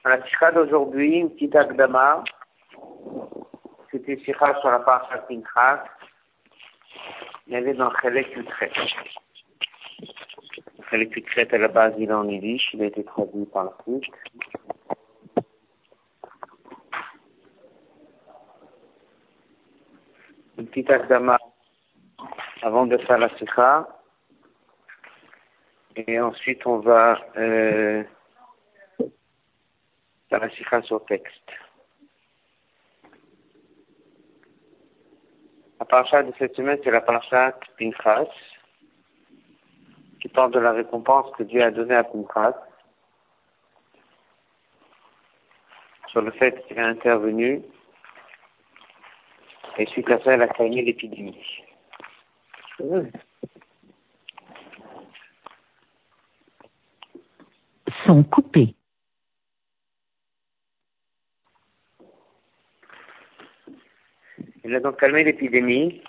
Dans la sikha d'aujourd'hui, une petite akdama, c'était sikha sur la parasha Pinchas. Il y avait dans Chelek Yutret. Chelek Yutret, à la base, il est en yiddish, il a été traduit par la suite. Une petite akdama avant de faire la sikha. Et ensuite, on va faire la sikha sur texte. La paracha de cette semaine, c'est la paracha Pinchas, qui parle de la récompense que Dieu a donnée à Pinchas, sur le fait qu'il a intervenu, et suite à ça, il a calmé l'épidémie. Sont coupés. Il a donc calmé l'épidémie.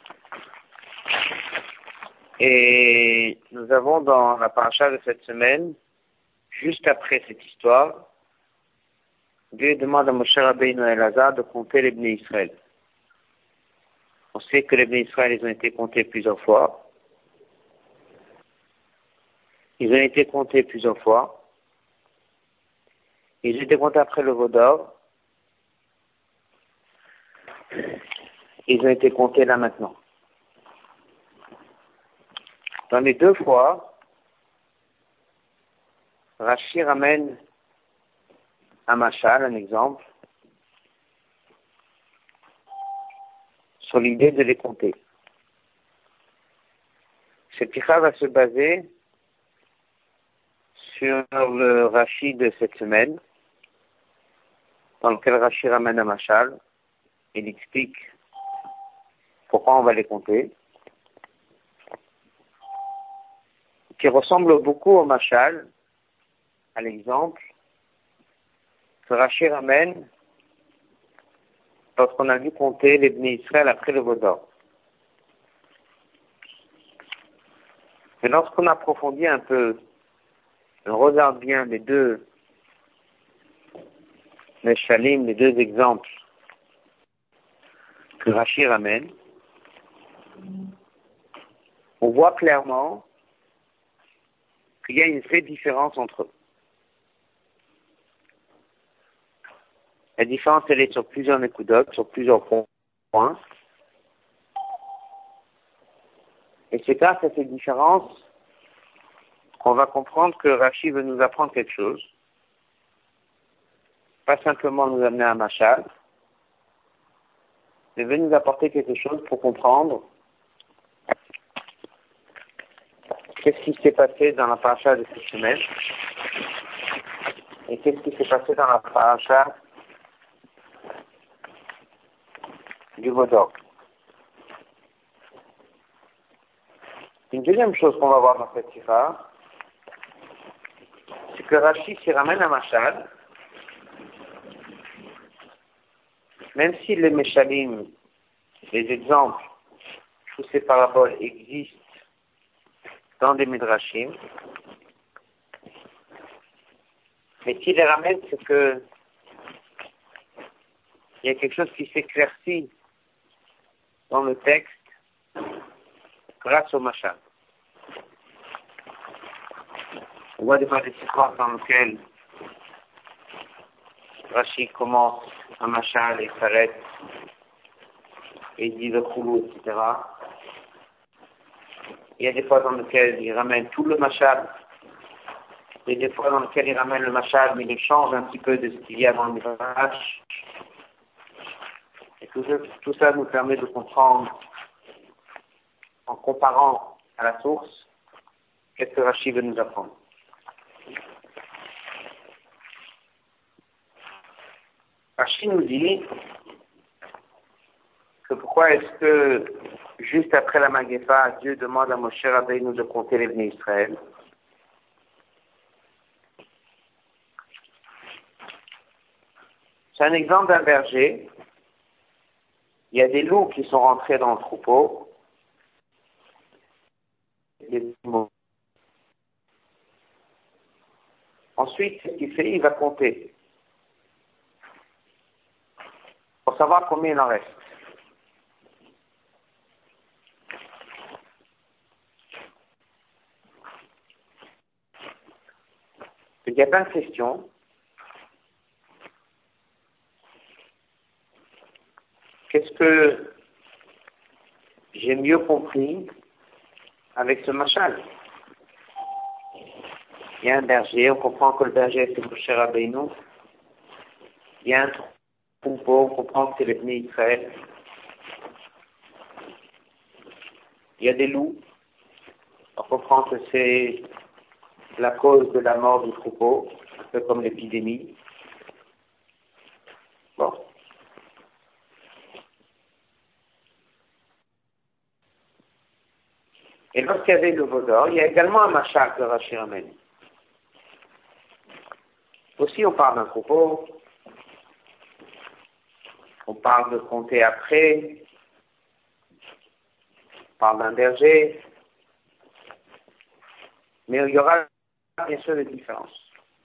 Et nous avons dans la paracha de cette semaine, juste après cette histoire, Dieu demande à Moshe Rabbeinu et Elazar de compter les Bnei Israël. On sait que les Bnei Israël, ils ont été comptés plusieurs fois. Ils ont été comptés plusieurs fois. Ils ont été comptés après le Vaudor. Ils ont été comptés là maintenant. Dans les deux fois, Rashi ramène un machal, un exemple, sur l'idée de les compter. Cette sikha va se baser sur le Rashi de cette semaine, dans lequel Rashi ramène un machal, il explique pourquoi on va les compter, qui ressemble beaucoup au machal, à l'exemple, que Rashi ramène lorsqu'on a vu compter les Bnei Israël après le Vaudor. Mais lorsqu'on approfondit un peu, on regarde bien les deux Meshalim, les deux exemples que Rashi ramène, on voit clairement qu'il y a une vraie différence entre eux. La différence, elle est sur plusieurs nekudotes, sur plusieurs points. Et c'est grâce à ces différences qu'on va comprendre que Rashi veut nous apprendre quelque chose. Pas simplement nous amener un machal, mais veut nous apporter quelque chose pour comprendre qu'est-ce qui s'est passé dans la paracha de cette semaine et qu'est-ce qui s'est passé dans la paracha du Vaudor. Une deuxième chose qu'on va voir dans cette sikha, c'est que Rashi s'y ramène un machal, même si les meshalim, les exemples, tous ces paraboles existent dans des midrashim, mais s'il les ramène, c'est que il y a quelque chose qui s'éclaircit dans le texte grâce au machal. On voit des fois des histoires dans lesquelles Rashi commence un machal et s'arrête et il dit le khoulou, etc. Il y a des fois dans lesquelles il ramène tout le machal. Il y a des fois dans lesquelles il ramène le machal, mais il change un petit peu de ce qu'il y a dans le midrash. Et tout ça nous permet de comprendre, en comparant à la source, qu'est-ce que Rashi veut nous apprendre. Rashi nous dit que pourquoi est-ce que juste après la Magépa, Dieu demande à Moshe Rabbeinu de compter les Bnei Israël. C'est un exemple d'un berger. Il y a des loups qui sont rentrés dans le troupeau. Ensuite, ce qu'il fait, il va compter. pour savoir combien il en reste. Il y a plein de questions. Qu'est-ce que j'ai mieux compris avec ce machal? Il y a un berger, on comprend que le berger c'est Moshe Rabbeinu. Il y a un troupeau, on comprend que c'est les Bnei Israël. Il y a des loups, on comprend que c'est la cause de la mort du troupeau, un peu comme l'épidémie. Bon. Et lorsqu'il y avait le veau d'or, il y a également un machal que Rashi ramène. Aussi, on parle d'un troupeau, on parle de compter après, on parle d'un berger, mais il y aura bien sûr des différences.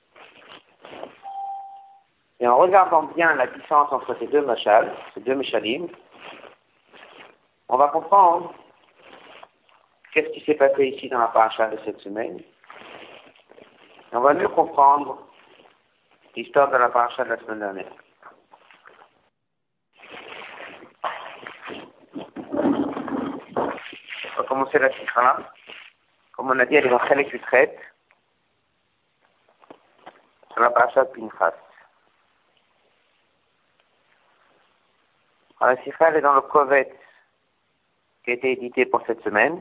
Et en regardant bien la différence entre ces deux machals, ces deux meshalim, on va comprendre qu'est-ce qui s'est passé ici dans la paracha de cette semaine. Et on va mieux comprendre l'histoire de la paracha de la semaine dernière. On va commencer la sikha. Comme on a dit, elle est dans Chelek Utret, sur la paracha de Pinchas. Alors, la sikha, elle est dans le Kovet qui a été édité pour cette semaine.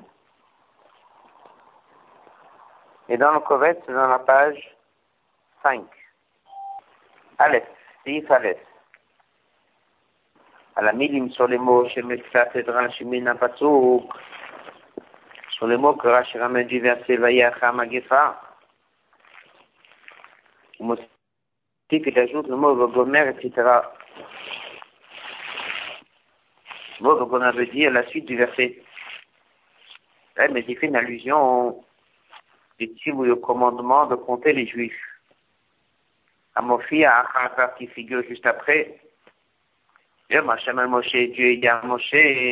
Et dans le Kovet, c'est dans la page 5. Aleph, Sif Aleph. À la milim sur les mots chez Metzat et Rashi Mina Pasouk, sur les mots que Rashi ramène du verset Vayacha Magefa. Aussi qu'il ajoute le mot Vogomer, etc. Vogomer veut dire la suite du verset. Ouais, mais il fait une allusion au commandement de compter les Juifs. Amofi à Achar qui figure juste après. Dieu il y a Moshe,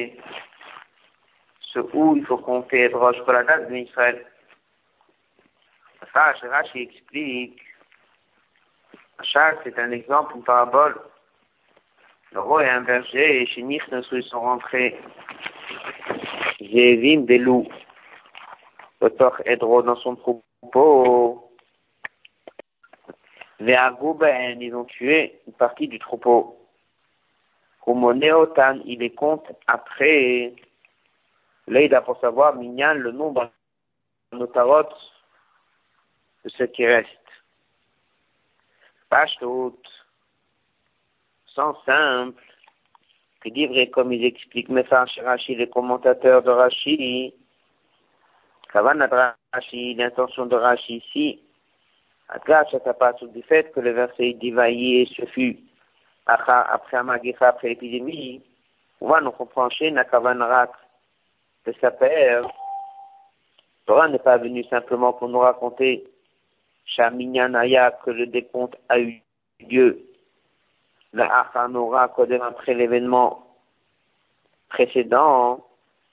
ce où il faut compter Rosh Koladat d'Israël. Ça, Rashi explique. Achar, c'est un exemple, une parabole. Le roi et un berger, et chez Nichnesru sont rentrés. Zévim, des loups. Otor Edro dans son troupeau. Ve'agouben, ils ont tué une partie du troupeau. Kumoneotan, il les compte après. Là, pour savoir, Minyan, le nombre notarot de ce qui reste. Pashtout, sans simple, que livrer comme ils expliquent, Mefarsh Rashi, les commentateurs de Rashi, Kavanat Rashi, l'intention de Rashi ici, Atgash, ça passe du fait que le verset dit Vaillé, ce fut après Amagifa, après l'épidémie, on va nous comprendre chez Nakavanrat de sa père. Torah n'est pas venu simplement pour nous raconter Shaminyanaya que le décompte a eu lieu. La Achanora, après l'événement précédent,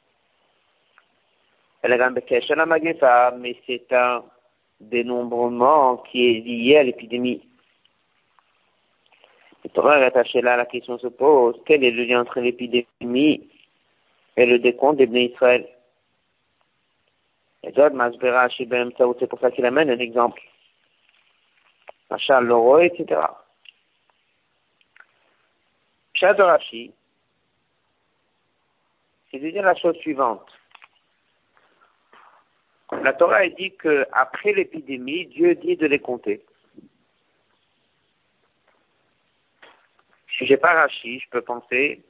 mais c'est un dénombrement qui est lié à l'épidémie. Le Torah est attaché là, la question se pose, quel est le lien entre l'épidémie et le décompte des Bnei Israël? Et d'autres, c'est pour ça qu'il amène un exemple. Machal, l'oro, etc. Pshat de Rashi, c'est de dire la chose suivante. La Torah dit qu'après l'épidémie, Dieu dit de les compter. Si j'ai pas Rashi, je peux penser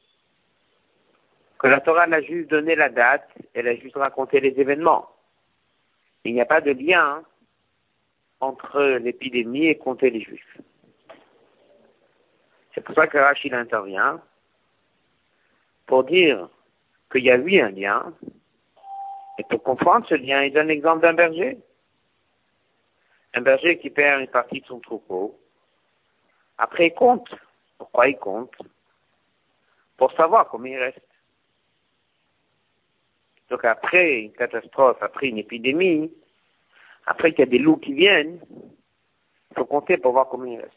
que la Torah n'a juste donné la date, elle a juste raconté les événements. Il n'y a pas de lien entre l'épidémie et compter les Juifs. C'est pour ça que Rashi intervient pour dire qu'il y a eu un lien, et pour comprendre ce lien, il donne l'exemple d'un berger. Un berger qui perd une partie de son troupeau. Après, il compte. Pourquoi il compte? pour savoir combien il reste. Donc après une catastrophe, après une épidémie, après qu'il y a des loups qui viennent, il faut compter pour voir combien il reste.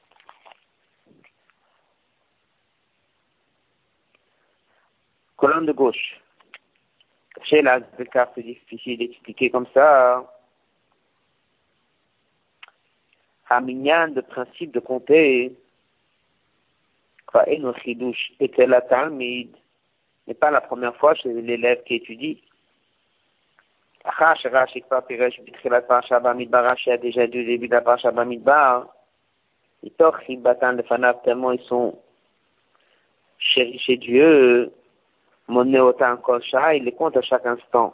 Colonne de gauche. Chez la carte, c'est difficile d'expliquer comme ça. Aminyan, de principe de compter, était la Talmid, n'est pas la première fois chez l'élève qui étudie. Rashi a déjà dit au début de la Parasha Bamidbar, tellement ils sont chéris chez Dieu, Monéotan Kolcha, il les compte à chaque instant.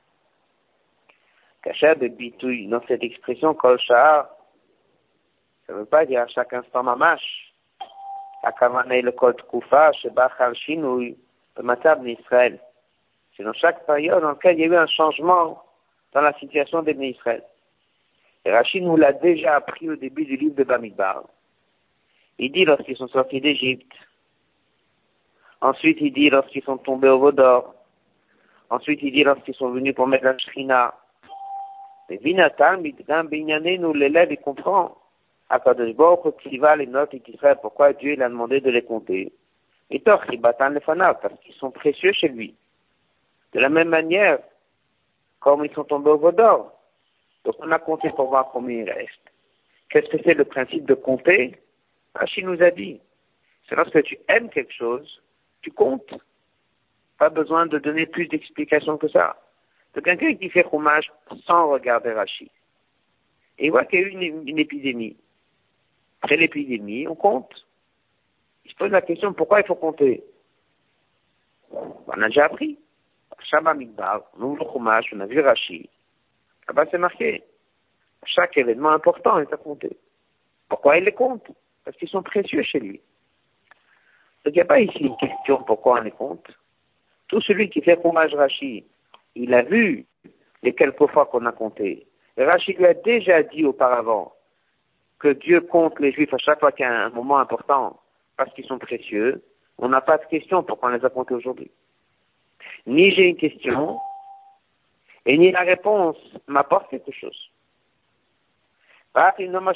Kacha de bitouille, dans cette expression Kolcha, ça ne veut pas dire à chaque instant mamash. Akavane le Kol Tkoufa, Shebachal Shinouy, le Matab d'Israël. C'est dans chaque période dans laquelle il y a eu un changement dans la situation des Israël. Et Rachid nous l'a déjà appris au début du livre de Bamidbar. Il dit lorsqu'ils sont sortis d'Égypte. Ensuite, il dit lorsqu'ils sont tombés au Vaudor. Ensuite, il dit lorsqu'ils sont venus pour mettre la Shrina. Mais Vinatam, nous l'élève, il comprend. Akadosh Baruch Hu va les notes d'Israël. Pourquoi Dieu il a demandé de les compter? Et Toch, il batan les fanav, parce qu'ils sont précieux chez lui. De la même manière, comme ils sont tombés au Vaudor. Donc on a compté pour voir combien il reste. Qu'est-ce que c'est le principe de compter? Rachid nous a dit. C'est lorsque tu aimes quelque chose, tu comptes. Pas besoin de donner plus d'explications que ça. C'est quelqu'un qui fait hommage sans regarder Rachid. Et il voit qu'il y a eu une épidémie. Après l'épidémie, on compte. Il se pose la question, pourquoi il faut compter? On a déjà appris. Shabbat Midbar, on ouvre le hommage, on a vu Rachid. Là-bas, c'est marqué. Chaque événement important est à compter. Pourquoi il les compte? Parce qu'ils sont précieux chez lui. Donc, il n'y a pas ici une question pourquoi on les compte. Tout celui qui fait hommage Rachid, il a vu les quelques fois qu'on a compté. Et Rachid lui a déjà dit auparavant que Dieu compte les Juifs à chaque fois qu'il y a un moment important parce qu'ils sont précieux. On n'a pas de question pourquoi on les a comptés aujourd'hui. Ni j'ai une question, et ni la réponse m'apporte quelque chose. Et même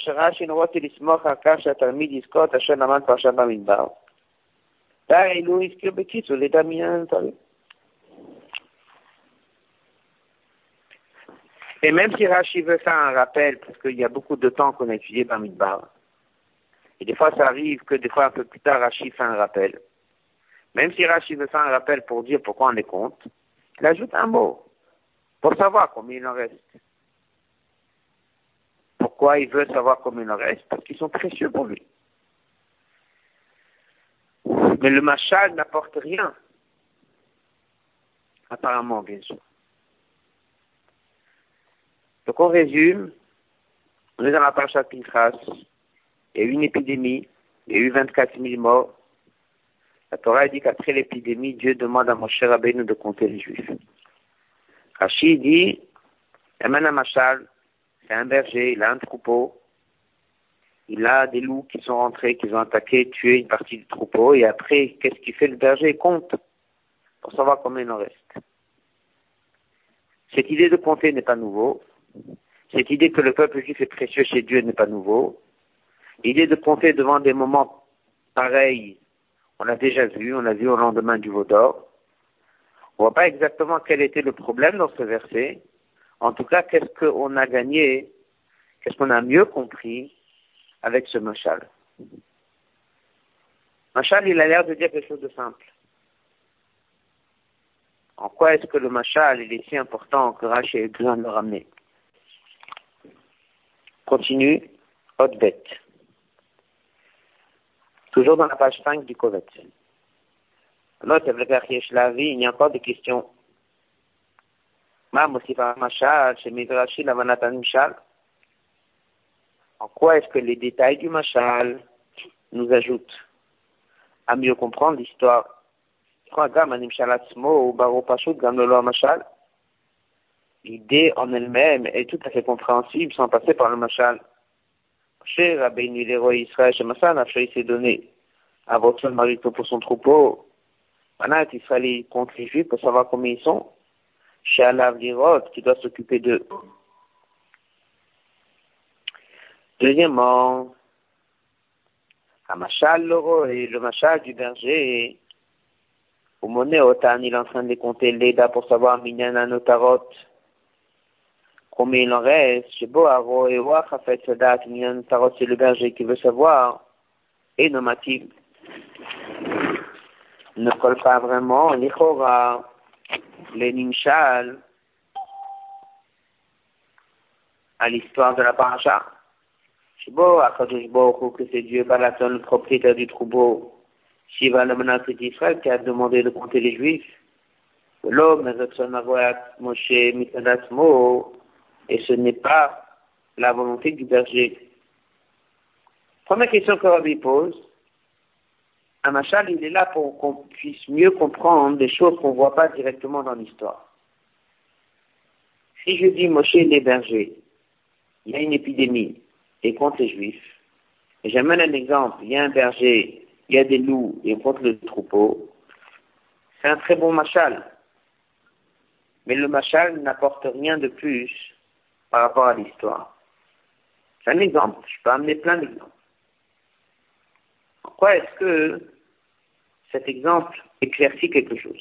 si Rashi veut faire un rappel, parce qu'il y a beaucoup de temps qu'on a étudié Bamidbar, et des fois ça arrive que des fois un peu plus tard Rashi fait un rappel. Même si Rashi veut faire un rappel pour dire pourquoi on les compte, il ajoute un mot, pour savoir combien il en reste. Pourquoi il veut savoir combien il en reste? Parce qu'ils sont précieux pour lui. Mais le machal n'apporte rien. Apparemment, bien sûr. Donc on résume, on est dans la parasha Pinchas, il y a eu une épidémie, il y a eu 24 000 morts. La Torah dit qu'après l'épidémie, Dieu demande à Moshe Rabbeinu de compter les Juifs. Rashi dit, Eman Machal, c'est un berger, il a un troupeau, il a des loups qui sont rentrés, qui ont attaqué, tué une partie du troupeau, et après, qu'est-ce qu'il fait le berger? Il compte, pour savoir combien il en reste. Cette idée de compter n'est pas nouveau. Cette idée que le peuple juif est précieux chez Dieu n'est pas nouveau. L'idée de compter devant des moments pareils, on l'a déjà vu, on l'a vu au lendemain du Vaudor. On ne voit pas exactement quel était le problème dans ce verset. En tout cas, qu'est-ce qu'on a gagné, qu'est-ce qu'on a mieux compris avec ce mashal. Mashal, il a l'air de dire quelque chose de simple. En quoi est-ce que le mashal, il est si important que Rashi ait besoin de le ramener? Continue, haute bête. Toujours dans la page 5 du Kovet. Note, il y a encore des questions. En quoi est-ce que les détails du mashal nous ajoutent à mieux comprendre l'histoire? L'idée en elle-même est tout à fait compréhensible sans passer par le mashal. Chez Rabbeinu, l'héros Israël, chez Massan, il s'est donné à votre marito pour son troupeau. Maintenant, il fallait contre les Juifs pour savoir combien ils sont. Chez Alav Lirot, qui doit s'occuper d'eux. Deuxièmement, Hamashal Loro et le Machal du berger. Au Moné Otan, il est en train de compter l'Eda pour savoir Minyana Notarot. Combien il en reste. Chez Boharo et Wach a fait Sadat, Minyana Notarot, c'est le berger qui veut savoir. Et Nomativ ne colle pas vraiment. L'Ichora, les Nimshal, à l'histoire de la paracha. Shibo, Akadosh Baruch que c'est Dieu, Balaton, le propriétaire du troupeau, Shiva, le menace d'Israël, qui a demandé de compter les Juifs. L'homme, Moshe, Mitadatsmo, et ce n'est pas la volonté du berger. Première question que Rabbi pose, Amachal, il est là pour qu'on puisse mieux comprendre des choses qu'on ne voit pas directement dans l'histoire. Si je dis Moshe, les bergers, il y a une épidémie, et contre les Juifs. Et j'amène un exemple. Il y a un berger, il y a des loups, et contre le troupeau. C'est un très bon machal. Mais le machal n'apporte rien de plus par rapport à l'histoire. C'est un exemple. Je peux amener plein d'exemples. Pourquoi est-ce que cet exemple éclaircit quelque chose?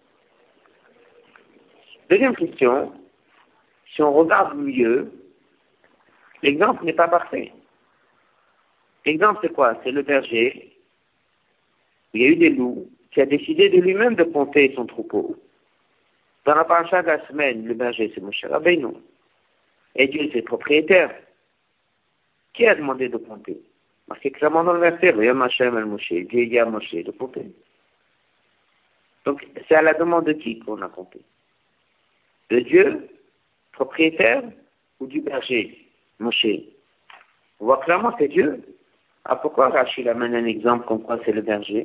Deuxième question. Si on regarde mieux, l'exemple n'est pas parfait. L'exemple, c'est quoi? C'est le berger. Il y a eu des loups qui a décidé de lui-même de compter son troupeau. Dans la paracha de la semaine, le berger, c'est Moshe Rabbeinu. Et Dieu, c'est le propriétaire. Qui a demandé de compter? Marqué clairement dans le verset, Yom Hashem el Moshe. Dieu dit à Moshe de compter. Donc, c'est à la demande de qui qu'on a compté? De Dieu, propriétaire, ou du berger, Moshe? On voit clairement que c'est Dieu. Ah, pourquoi Rachid amène un exemple comme quoi c'est le berger?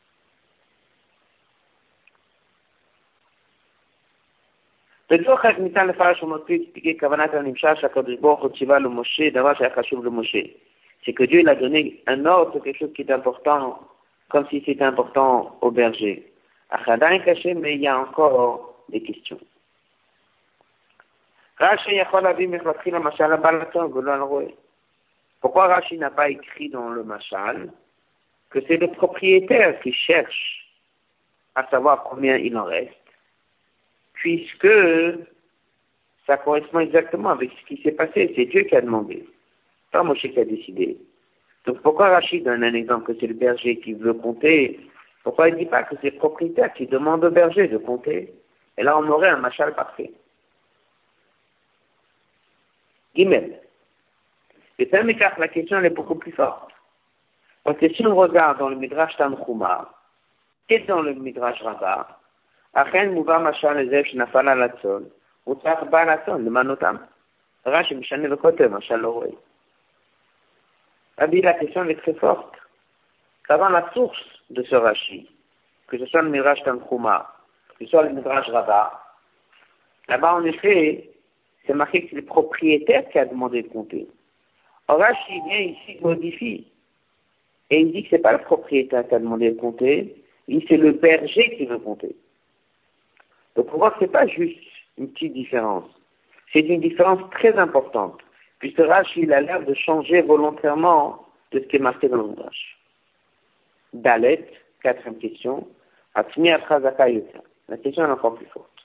בדוח ניתן לפרש ומקריא expliquer כוונת הנמשל שהקדוש ברוך הוא ציווה למשה דבר שהיה חשוב למשה. C'est que Dieu il a donné un ordre, quelque chose qui est important, comme si c'était important au berger. Achadain caché, mais il y a encore des questions. Rashi יכול להביא מלכתחיל למשל הבעלתון ולא הרועה. Pourquoi Rashi n'a pas écrit dans le machal que c'est le propriétaire qui cherche à savoir combien il en reste, puisque ça correspond exactement avec ce qui s'est passé. C'est Dieu qui a demandé, pas Moshe qui a décidé. Donc pourquoi Rachid donne un exemple que c'est le berger qui veut compter? Pourquoi il ne dit pas que c'est le propriétaire qui demande au berger de compter? Et là on aurait un machal parfait. Gimel. Et ça, la question elle est beaucoup plus forte. Parce que si on regarde dans le Midrash Tanchuma et dans le Midrash Rabbah, Achen Mouva Machal Ezef Shnafala Latzol, Utzach Ba Latzol, le Manotam. Rashi Mishane le côté, Machal Loré. La question elle est très forte. Qu'avant la source de ce Rashi, que ce soit le Midrash Tanchuma, que ce soit le Midrash Rabbah, là-bas en effet, c'est marqué que c'est le propriétaire qui a demandé de compter. Or Rashi vient ici, modifie, et il dit que c'est pas le propriétaire qui a demandé de compter, il dit que c'est le berger qui veut compter. Donc on voit que c'est pas juste une petite différence, c'est une différence très importante, puisque Rashi il a l'air de changer volontairement de ce qui est marqué dans le Midrash. Dalet, quatrième question, Atmi Achazaka Yota. La question est encore plus forte.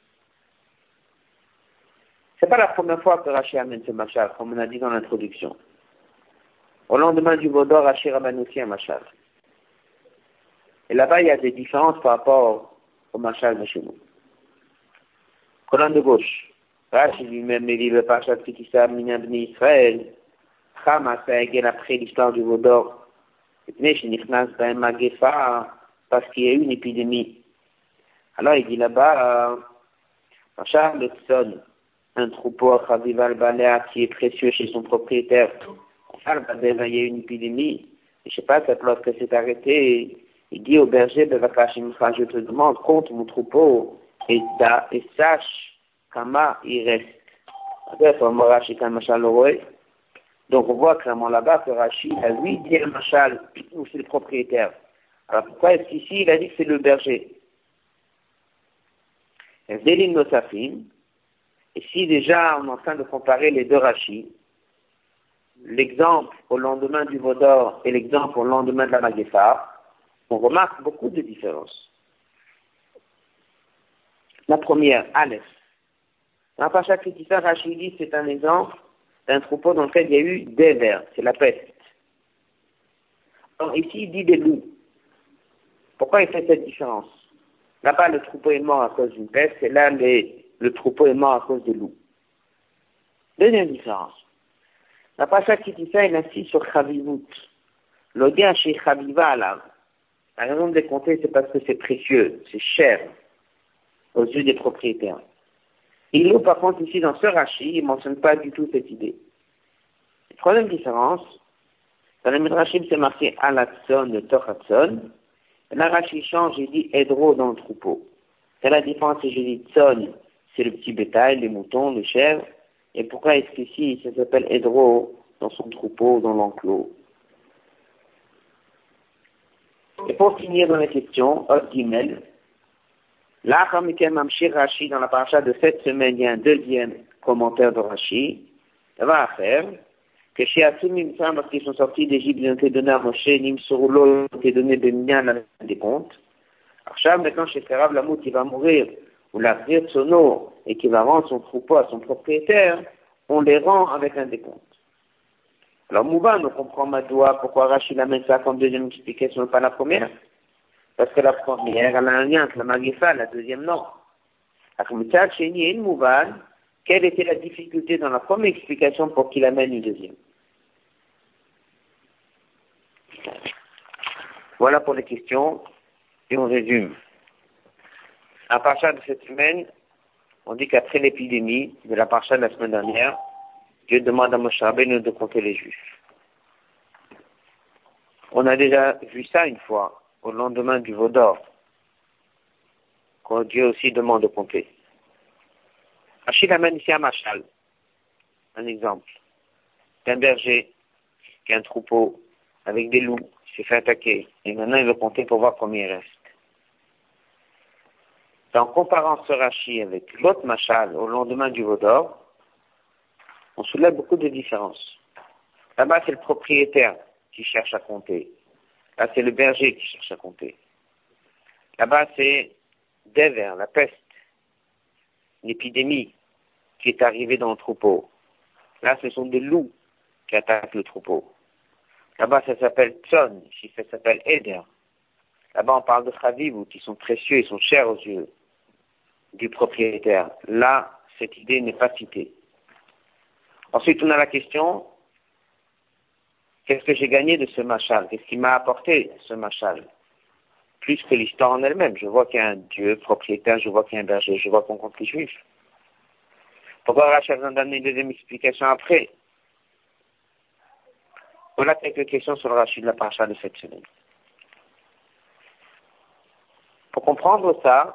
C'est pas la première fois que Rashi amène ce machal, comme on a dit dans l'introduction. Au lendemain du Vaudor, Rashi ramène aussi un machal. Et là-bas, il y a des différences par rapport au machal de chez nous. Colonne de gauche. Rashi lui-même dit le Parashat Kitissa Minyan Bnei Israël. Hamas a égal après l'histoire du Vaudor. Parce qu'il y a eu une épidémie. Alors il dit là-bas, Machal le sonne un troupeau à Chavival Balea qui est précieux chez son propriétaire. Il y a eu une épidémie. Et je sais pas, cette lorsque c'est arrêté, il dit au berger, je te demande, compte mon troupeau et sache comment il reste. Donc on voit clairement là-bas que Rachid a lui dit le machal, ou c'est le propriétaire. Alors pourquoi est-ce qu'ici il a dit que c'est le berger? Delim Nosafim. Et si déjà on est en train de comparer les deux rachis, l'exemple au lendemain du Vaudor et l'exemple au lendemain de la Magéfa, on remarque beaucoup de différences. La première, Aleph. Dans la Pacha Kritika, Rashi dit c'est un exemple d'un troupeau dans lequel il y a eu des vers, c'est la peste. Alors ici, il dit des loups. Pourquoi il fait cette différence? Là-bas, le troupeau est mort à cause d'une peste, et là, le troupeau est mort à cause des loups. Deuxième différence. La Pacha Kritika, il insiste sur Chavivut. L'odien chez Chaviva à l'âme. La raison de les compter, c'est parce que c'est précieux, c'est cher aux yeux des propriétaires. Il nous, par contre, ici, dans ce Rashi, il ne mentionne pas du tout cette idée. Troisième différence, dans le Midrashim, c'est marqué Alatson, le Tochatson. Là, Rashi change, il dit Edro dans le troupeau. C'est la différence, si je dis Tson, c'est le petit bétail, les moutons, les chèvres. Et pourquoi est-ce qu'ici, ça s'appelle Edro dans son troupeau, dans l'enclos? Et pour finir dans la question, Od Gimel, là, Rashi, dans la paracha de cette semaine, il y a un deuxième commentaire de Rashi. Ça va à faire que chez Atsumim, lorsqu'ils sont sortis d'Égypte, ils ont été donnés à Moshe, Nimsurulo, ils ont été donnés Benyan à des comptes. Alors, maintenant, chez Ferab, Lamout, il va mourir, ou la Sono, et qui va rendre son troupeau à son propriétaire, on les rend avec un décompte. Alors, Mouban, on comprend Madoua, pourquoi Rashi amène ça comme deuxième explication, pas la première. Parce que la première, elle a un lien avec la Magéfa, la deuxième, non. Alors, chez Ni et Mouban, quelle était la difficulté dans la première explication pour qu'il amène une deuxième? Voilà pour les questions, et on résume. À partir de cette semaine, on dit qu'après l'épidémie de la paracha de la semaine dernière, Dieu demande à Moshe Rabbeinu de compter les Juifs. On a déjà vu ça une fois, au lendemain du Vaudor, quand Dieu aussi demande de compter. Achille amène ici un machal, un exemple, d'un berger qui a un troupeau avec des loups, qui s'est fait attaquer, et maintenant il veut compter pour voir combien il reste. En comparant ce Rashi avec l'autre machal au lendemain du Vaudor, on soulève beaucoup de différences. Là-bas, c'est le propriétaire qui cherche à compter. Là, c'est le berger qui cherche à compter. Là-bas, c'est des vers, la peste, une épidémie qui est arrivée dans le troupeau. Là, ce sont des loups qui attaquent le troupeau. Là-bas, ça s'appelle Tson, ici, ça s'appelle Eder. Là-bas, on parle de Chavivut, qui sont précieux, ils sont chers aux yeux du propriétaire. Là, cette idée n'est pas citée. Ensuite, on a la question, qu'est-ce que j'ai gagné de ce machal? Qu'est-ce qui m'a apporté ce machal? Plus que l'histoire en elle-même. Je vois qu'il y a un Dieu propriétaire, je vois qu'il y a un berger, je vois qu'on compte les Juifs. Pourquoi Rachel a besoin d'amener une deuxième explication après? Voilà quelques questions sur le Rachid de la paracha de cette semaine. Pour comprendre ça,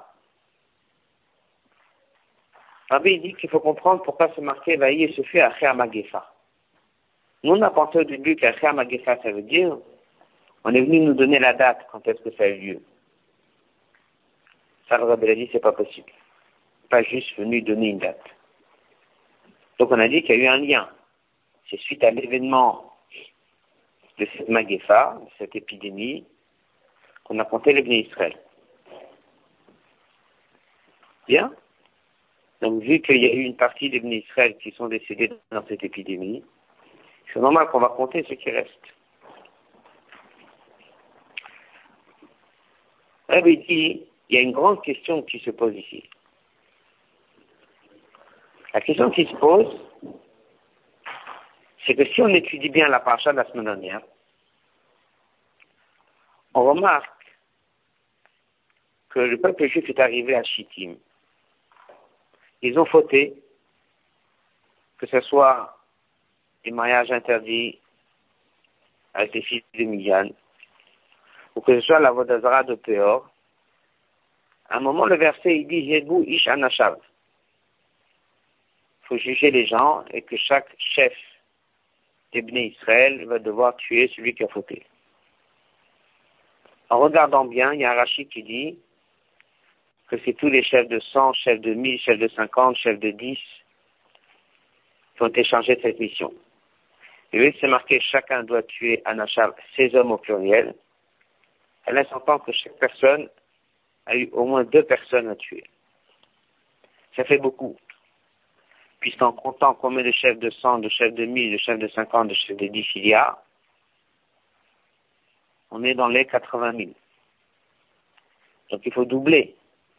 Rabbi dit qu'il faut comprendre pourquoi ce marqué Vaïe et se fait à Cher Magefa. Nous, on a pensé au début qu'à Cher Magefa, ça veut dire, on est venu nous donner la date quand est-ce que ça a eu lieu. Ça, le Rabbi a dit, c'est pas possible. Pas juste venu donner une date. Donc on a dit qu'il y a eu un lien. C'est suite à l'événement de cette Magefa, de cette épidémie, qu'on a compté les Bnei Israël. Bien? Donc, vu qu'il y a eu une partie des Bnei Israël qui sont décédés dans cette épidémie, c'est normal qu'on va compter ce qui reste. Rabbi dit, il y a une grande question qui se pose ici. La question qui se pose, c'est que si on étudie bien la paracha de la semaine dernière, on remarque que le peuple juif est arrivé à Shittim. Ils ont fauté, que ce soit des mariages interdits avec les fils de Midian, ou que ce soit la Vodazara de Péor. À un moment, le verset, il dit, Yedbu ish anashav. Il faut juger les gens et que chaque chef des Bnei Israël va devoir tuer celui qui a fauté. En regardant bien, il y a un Rashi qui dit, que c'est tous les chefs de 100, chefs de 1000, chefs de 50, chefs de 10 qui ont été chargés de cette mission. Et oui, c'est marqué, chacun doit tuer un achab, 16 hommes au pluriel. Elle laisse entendre que chaque personne a eu au moins 2 personnes à tuer. Ça fait beaucoup. Puisqu'en comptant combien de chefs de 100, de chefs de 1000, de chefs de 50, de chefs de 10 il y a, on est dans les 80 000. Donc il faut doubler.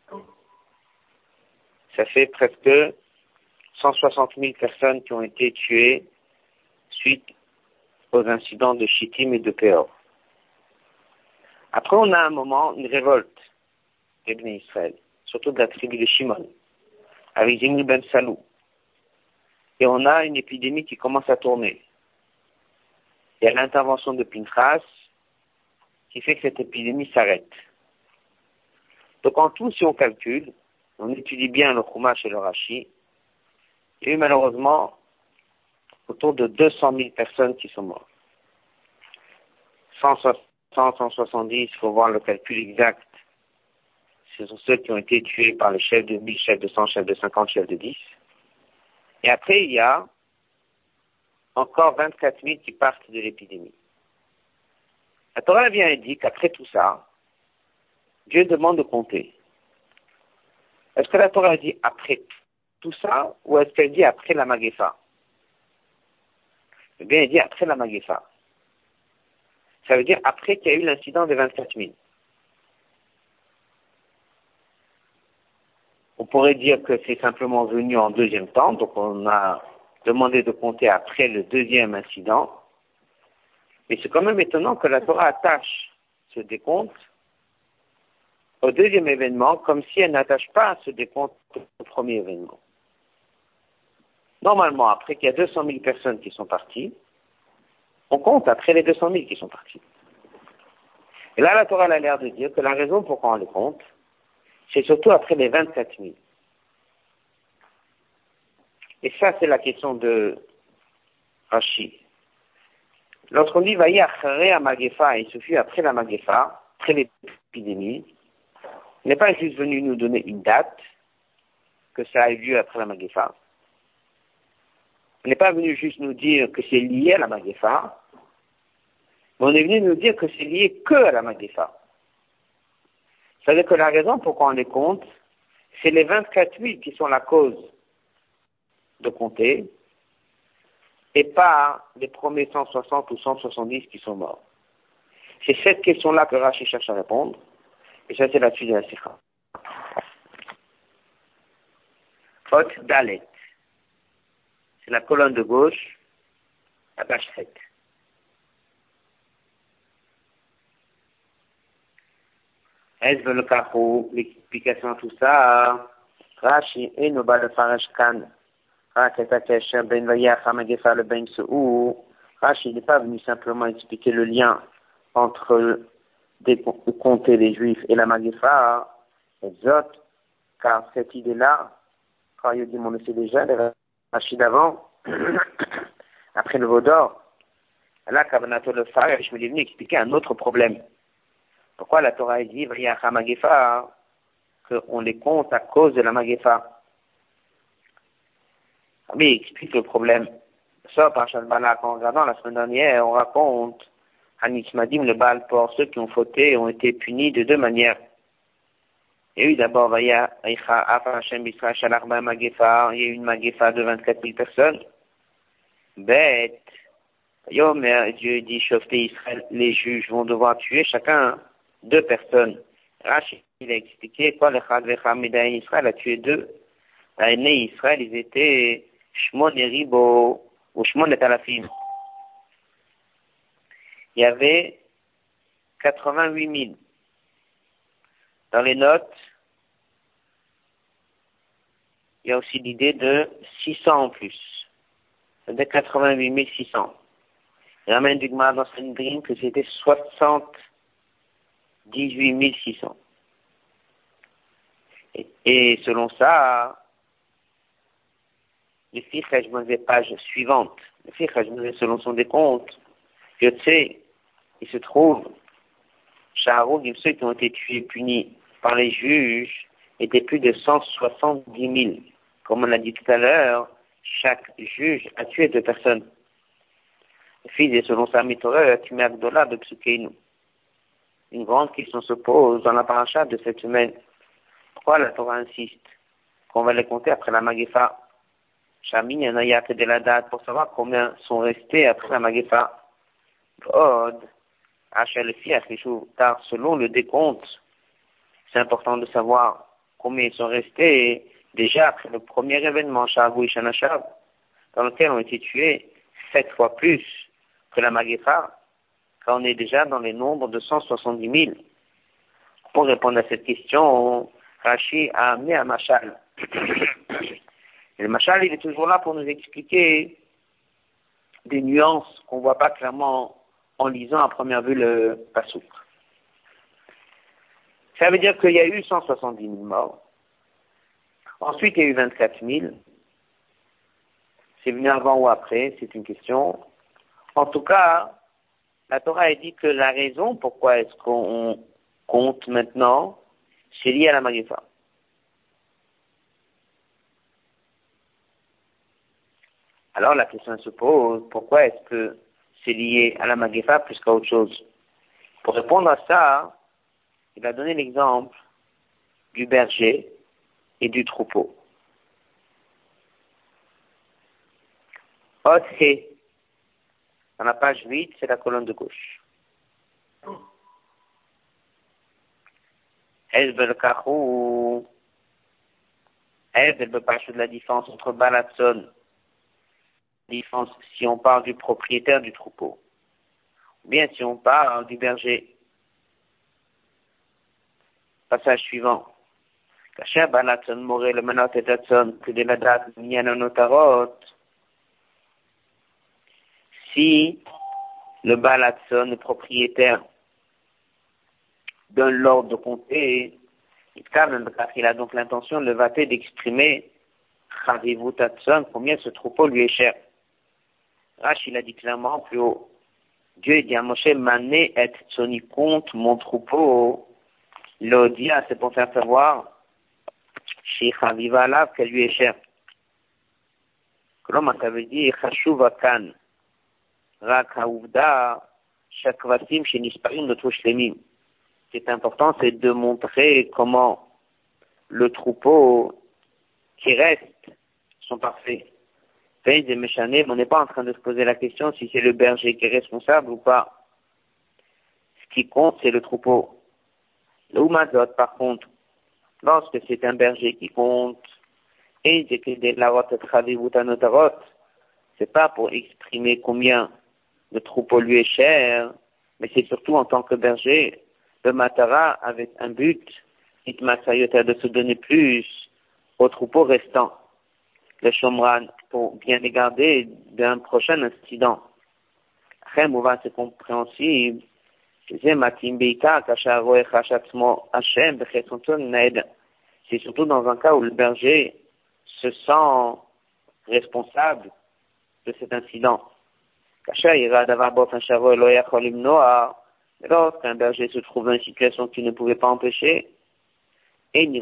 Ça fait presque 160 000 personnes qui ont été tuées suite aux incidents de Shittim et de Péor. Après, on a un moment, une révolte des Bnei Israël, surtout de la tribu de Shimon, avec Zimri ben Salou. Et on a une épidémie qui commence à tourner. Il y a l'intervention de Pinchas qui fait que cette épidémie s'arrête. Donc en tout, si on calcule, on étudie bien le Chumash et le Rashi, il y a eu malheureusement autour de 200 000 personnes qui sont mortes. 160, 170, il faut voir le calcul exact. Ce sont ceux qui ont été tués par les chefs de 1000, chefs de 100, chefs de 50, chefs de 10. Et après, il y a encore 24 000 qui partent de l'épidémie. La Torah vient et dit qu'après tout ça, Dieu demande de compter. Est-ce que la Torah dit après tout ça, ou est-ce qu'elle dit après la Magéfa? Eh bien, elle dit après la Magéfa. Ça veut dire après qu'il y a eu l'incident des 24 000. On pourrait dire que c'est simplement venu en deuxième temps, donc on a demandé de compter après le deuxième incident. Mais c'est quand même étonnant que la Torah attache ce décompte au deuxième événement, comme si elle n'attache pas ce décompte au premier événement. Normalement, après qu'il y a 200 000 personnes qui sont parties, on compte après les 200 000 qui sont partis. Et là, la Torah a l'air de dire que la raison pourquoi on les compte, c'est surtout après les 24 000. Et ça, c'est la question de Rashi. Lorsqu'on dit Vayi acharei ha-magéfa, il se fut après la Magéfa, après l'épidémie, il n'est pas juste venu nous donner une date, que ça a eu lieu après la Magéfa. Il n'est pas venu juste nous dire que c'est lié à la Magéfa, mais on est venu nous dire que c'est lié que à la Magéfa. C'est-à-dire que la raison pourquoi on les compte, c'est les 24 000 qui sont la cause de compter, et pas les premiers 160 ou 170 qui sont morts. C'est cette question-là que Rashi cherche à répondre, et ça c'est la suite de la Sikha. Hot Dalet. C'est la colonne de gauche, la page 7. Est-ce que le carreau, l'explication de tout ça, Rashi et Noba le Farash Khan, Rashi n'est pas venu simplement expliquer le lien entre compter les Juifs et la Magéfa, car cette idée-là, quand il dit, on le sait déjà, le Rashi d'avant, après le Vaudor, là, Kavanato le Farash, il est venu expliquer un autre problème. Pourquoi la Torah dit, Vayacha Magéfa, qu'on les compte à cause de la Magéfa? Mais il explique le problème. Ça, par Shalbalak, en regardant la semaine dernière, on raconte, Hanismadim, le Baal Por, ceux qui ont fauté ont été punis de 2 manières. Il y a eu d'abord, il y a eu une Magéfa de 24 000 personnes. Bête. Dieu dit, Shofté Israël, les juges vont devoir tuer chacun 2 personnes. Rachid, il a expliqué, quoi, le Chad Vecham Israël a tué 2. L'aîné Israël, ils étaient Shmon et Ribo, ou Shmon et Talafim. Il y avait 88 000. Dans les notes, il y a aussi l'idée de 600 en plus. C'est-à-dire 88 600. Il ramène du Gemara dans Sanhedrin que c'était 78 600. Et selon ça, le Fiche Hajmazé, page suivante, le Fiche Hajmazé, selon son décompte, il se trouve, Shaharou, ceux qui ont été tués, punis par les juges, étaient plus de 170 000. Comme on l'a dit tout à l'heure, chaque juge a tué 2 personnes. Le fils est selon sa Torah, tu mets Agdola de Psukeinu. Une grande question se pose dans la paracha de cette semaine. Pourquoi la Torah insiste qu'on va les compter après la Magefa? Chamin Yanayat de la date pour savoir combien sont restés après la Magefa. Od, Hachel Fiach, car selon le décompte, c'est important de savoir combien ils sont restés déjà après le premier événement, Shavu et Shanashav, dans lequel ont été tués 7 fois plus que la Magefa, quand on est déjà dans les nombres de 170 000. Pour répondre à cette question, Rashi a amené un machal. Et le machal, il est toujours là pour nous expliquer des nuances qu'on ne voit pas clairement en lisant à première vue le pasouk. Ça veut dire qu'il y a eu 170 000 morts. Ensuite, il y a eu 24 000. C'est venu avant ou après, c'est une question. En tout cas, la Torah a dit que la raison pourquoi est-ce qu'on compte maintenant, c'est lié à la Magefa. Alors la question se pose, pourquoi est-ce que c'est lié à la Magefa plus qu'à autre chose? Pour répondre à ça, il a donné l'exemple du berger et du troupeau. Autre, dans la page 8, c'est la colonne de gauche. La différence entre Balatson, différence si on parle du propriétaire du troupeau, ou bien si on parle du berger. Passage suivant. Kacher Balatson Moré le Manot et Tatson, que de la date Mianotarot. Si le Balatson, le propriétaire, donne l'ordre de compter, il a donc l'intention, le vaté, d'exprimer Chavivut Tatson, combien ce troupeau lui est cher. Rashi, il a dit clairement plus haut. Dieu dit à Moshe, Mané et Tsoni, compte mon troupeau. L'Odia, c'est pour faire savoir chez Chaviva Alav qu'elle lui est chère. Comment ça veut dire Chashuva Kan Rak Haouvda Shakvasim chez Nisparim de Touchlemim. Ce qui est important, c'est de montrer comment le troupeau qui reste sont parfaits. On n'est pas en train de se poser la question si c'est le berger qui est responsable ou pas. Ce qui compte, c'est le troupeau. Le Umazot, par contre, lorsque c'est un berger qui compte, et c'est pas pour exprimer combien le troupeau lui est cher, mais c'est surtout en tant que berger, le matara avec un but, itmasayota, de se donner plus au troupeau restant, le shomran, pour bien les garder d'un prochain incident. C'est compréhensible. C'est surtout dans un cas où le berger se sent responsable de cet incident. Lorsqu'un berger se trouve dans une situation qu'il ne pouvait pas empêcher, et il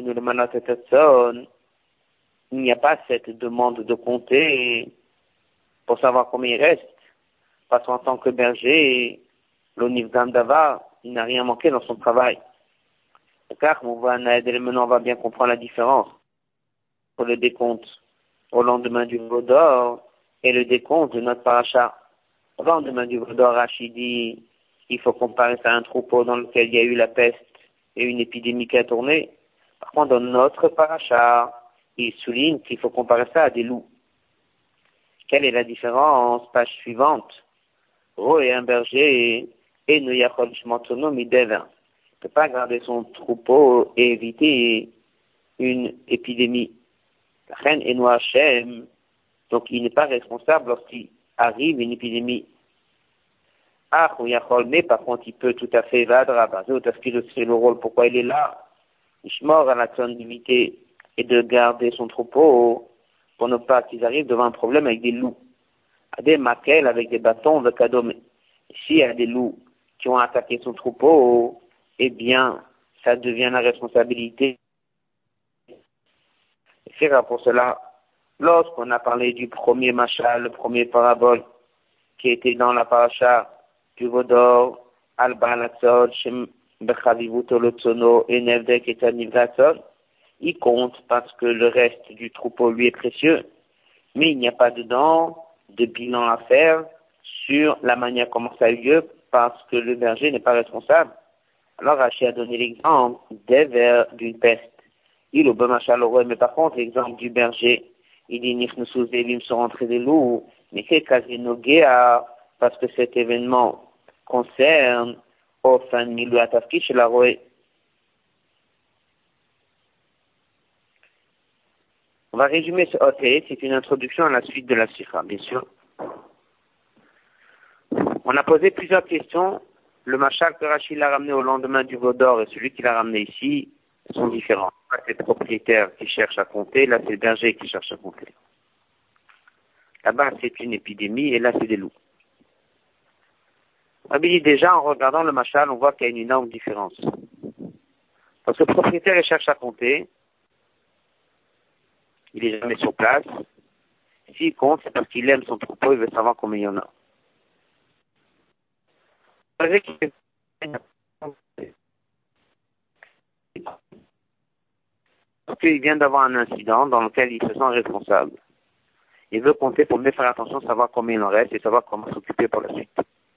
n'y a pas cette demande de compter pour savoir combien il reste, parce qu'en tant que berger, l'onivdam d'Ava, il n'a rien manqué dans son travail. Car maintenant on va bien comprendre la différence pour le décompte au lendemain du Vaudor et le décompte de notre paracha. Au lendemain du Vaudor, Rachidi, il faut comparer ça à un troupeau dans lequel il y a eu la peste et une épidémie qui a tourné. Par contre, dans notre paracha, il souligne qu'il faut comparer ça à des loups. Quelle est la différence? Page suivante. Ro est un berger et ne yachol shmantono midevin. Il ne peut pas garder son troupeau et éviter une épidémie. La reine est noire Hachem, donc il n'est pas responsable lorsqu'il arrive une épidémie. Ah, ou yachol, mais par contre il peut tout à fait vadra, parce qu'il sait le rôle, pourquoi il est là. Ishmor à la zone d'imiter et de garder son troupeau pour ne pas qu'ils arrivent devant un problème avec des loups. À des maquelles avec des bâtons de cadeau. S'il y a des loups qui ont attaqué son troupeau, eh bien, ça devient la responsabilité Sira. Pour cela, lorsqu'on a parlé du premier machal, le premier parabole, qui était dans la paracha du Vodor, Al-Balatzot, Shem Bechavivut Olotsono, et Nevdek et Tanivratzot, il compte parce que le reste du troupeau lui est précieux, mais il n'y a pas dedans de bilan à faire sur la manière comment ça a eu lieu parce que le berger n'est pas responsable. Alors Rachid a donné l'exemple des vers d'une peste. Il au machal mais par contre l'exemple du berger, il dit Nichnusu Zevim sont rentrés des loups, mais c'est Kazinogea parce que cet événement concerne au fin de Milou Atafki chez la Roé. On va résumer ce OT, c'est une introduction à la suite de la Sikha, bien sûr. On a posé plusieurs questions. Le machal que Rachid l'a ramené au lendemain du Vaudor et celui qu'il a ramené ici sont différents. Là, c'est le propriétaire qui cherche à compter, là, c'est le berger qui cherche à compter. Là-bas, c'est une épidémie et là, c'est des loups. Déjà, en regardant le machal, on voit qu'il y a une énorme différence. Parce que le propriétaire, il cherche à compter. Il est jamais sur place. S'il compte, c'est parce qu'il aime son troupeau, il veut savoir combien il y en a. Parce qu'il vient d'avoir un incident dans lequel il se sent responsable. Il veut compter pour mieux faire attention, savoir combien il en reste et savoir comment s'occuper pour la suite.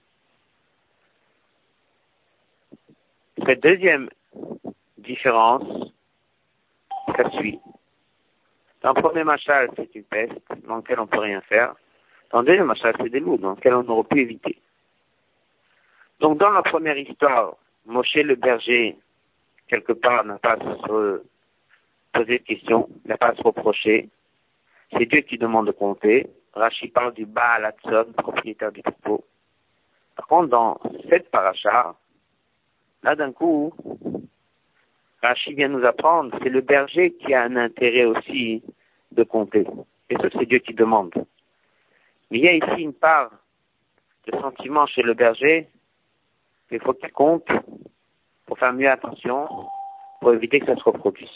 Cette deuxième différence, ça suit. Dans le premier machal, c'est une peste dans lequel on ne peut rien faire. Dans le deuxième machal, c'est des loups dans lequel on aurait pu éviter. Donc, dans la première histoire, Moshe le berger, quelque part, n'a pas à se poser de questions, n'a pas à se reprocher. C'est Dieu qui demande de compter. Rashi parle du Baal Hatzon, propriétaire du troupeau. Par contre, dans cette paracha, là, d'un coup, Rashi vient nous apprendre, c'est le berger qui a un intérêt aussi de compter. Et ça, c'est Dieu qui demande. Mais il y a ici une part de sentiment chez le berger. Il faut qu'il compte pour faire mieux attention, pour éviter que ça se reproduise.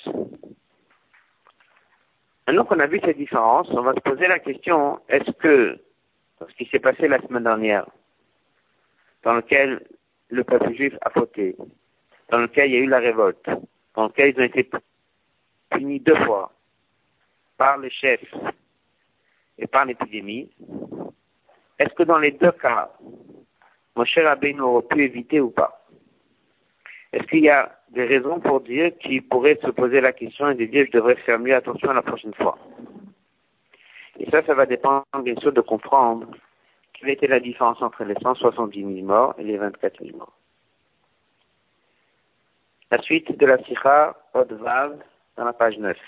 Maintenant qu'on a vu cette différence, on va se poser la question, est-ce que, ce qui s'est passé la semaine dernière, dans lequel le peuple juif a fauté, dans lequel il y a eu la révolte, dans lequel ils ont été punis 2 fois par les chefs et par l'épidémie, est-ce que dans les 2 cas, Moshe Rabbeinu aurait pu éviter ou pas? Est-ce qu'il y a des raisons pour dire qu'il pourrait se poser la question et de dire je devrais faire mieux attention la prochaine fois? Et ça va dépendre bien sûr de comprendre quelle était la différence entre les 170 000 morts et les 24 000 morts. La suite de la Sikha, Odvav, dans la page 9.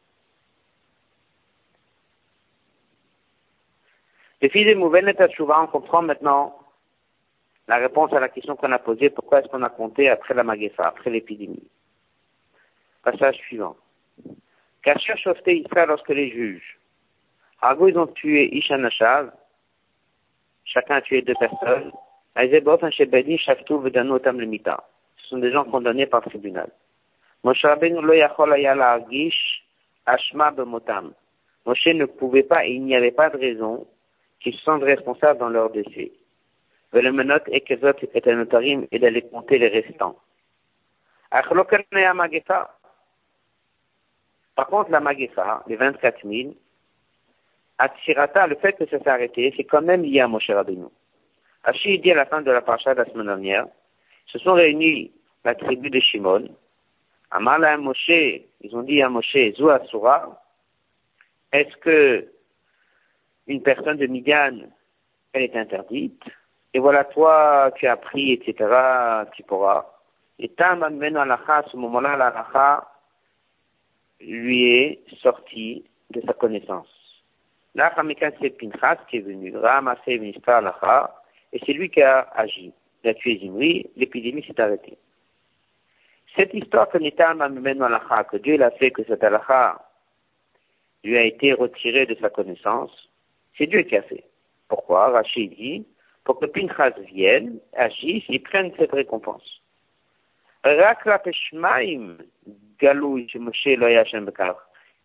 Les filles de Mouvenet Tachouva, on comprend maintenant la réponse à la question qu'on a posée, pourquoi est-ce qu'on a compté après la Magefa, après l'épidémie. Passage suivant. Kasher Shofté Israël, lorsque les juges, Argo, ils ont tué Isha Nashav, chacun a tué 2 personnes, Aizebot, Shebedi, Shaftou, Vedano, Otam, le Mita. Ce sont des gens condamnés par le tribunal. Moshe Rabbeinu lo yachol haya la'argish ashma bemotam. Moshe ne pouvait pas et il n'y avait pas de raison qu'ils se sentent responsables dans leur décès. Velemenot et kezot et anotarim et d'aller compter les restants. Achlokan ya magefa. Par contre, la magefa, les 24 000, Atsirata, le fait que ça s'est arrêté, c'est quand même lié à Moshe Rabbeinu. Rashi dit à la fin de la paracha de la semaine dernière, se sont réunis la tribu de Shimon, Amala à Moshe, ils ont dit à Moshe, Zou Asura, est-ce que une personne de Midian, elle est interdite? Et voilà, toi, tu as pris, etc., tu pourras. Et Tam amène alacha, à ce moment-là, l'alacha lui est sortie de sa connaissance. Là, Hamikan, c'est Pinchas qui est venu, ramasser ministre alacha, et c'est lui qui a agi. Il a tué Zimri, l'épidémie s'est arrêtée. Cette histoire que Nitam amène alacha, que Dieu l'a fait, que cette alacha lui a été retirée de sa connaissance, c'est Dieu qui a fait. Pourquoi? Rachid dit, pour que Pinchas vienne, agisse et prenne cette récompense.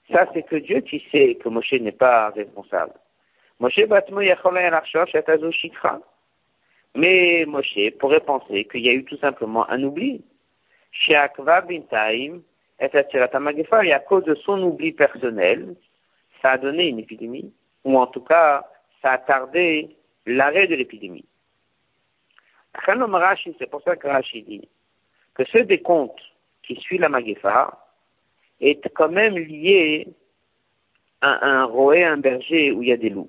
Ça, c'est que Dieu qui sait que Moshe n'est pas responsable. Moshe batmo yacholay al-archosh etazo shikra. Mais Moshe pourrait penser qu'il y a eu tout simplement un oubli. Sheakva bintaim et atirata magefa, et à cause de son oubli personnel, ça a donné une épidémie, ou en tout cas, ça a tardé l'arrêt de l'épidémie. C'est pour ça que Rashi dit que ce décompte qui suit la Magefa est quand même lié à un roé, un berger où il y a des loups.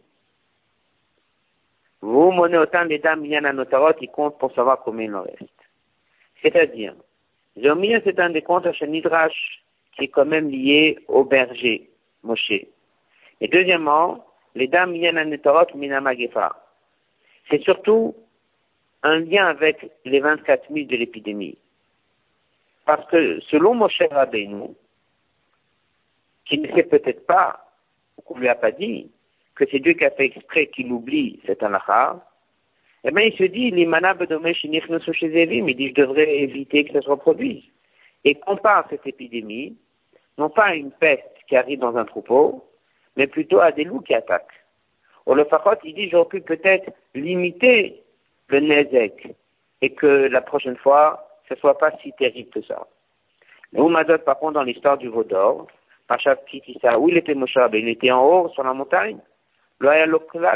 Vous menez autant les dames, il y en a notarot, ils comptent pour savoir combien il en reste. C'est-à-dire, Zomia, c'est un décompte chez Nidrash qui est quand même lié au berger, Moshe. Et deuxièmement, les dames, il y en a notarot, mina Magefa. C'est surtout un lien avec les 24 000 de l'épidémie. Parce que selon Moshe Rabbeinu, qui ne sait peut-être pas, ou qu'on lui a pas dit, que c'est Dieu qui a fait exprès qu'il oublie cet halakha, eh bien il se dit, l'imana bedomesh nichnosu chez Evim, il dit, je devrais éviter que ça se reproduise. Et compare cette épidémie, non pas à une peste qui arrive dans un troupeau, mais plutôt à des loups qui attaquent. Au le Fachot, il dit, j'aurais pu peut-être limiter le nezek, et que la prochaine fois, ce soit pas si terrible que ça. Mais Oumadot, par contre, dans l'histoire du veau d'or, Pachat Kitissa, où il était Moshe Rabbeinu, il était en haut, sur la montagne. Il n'avait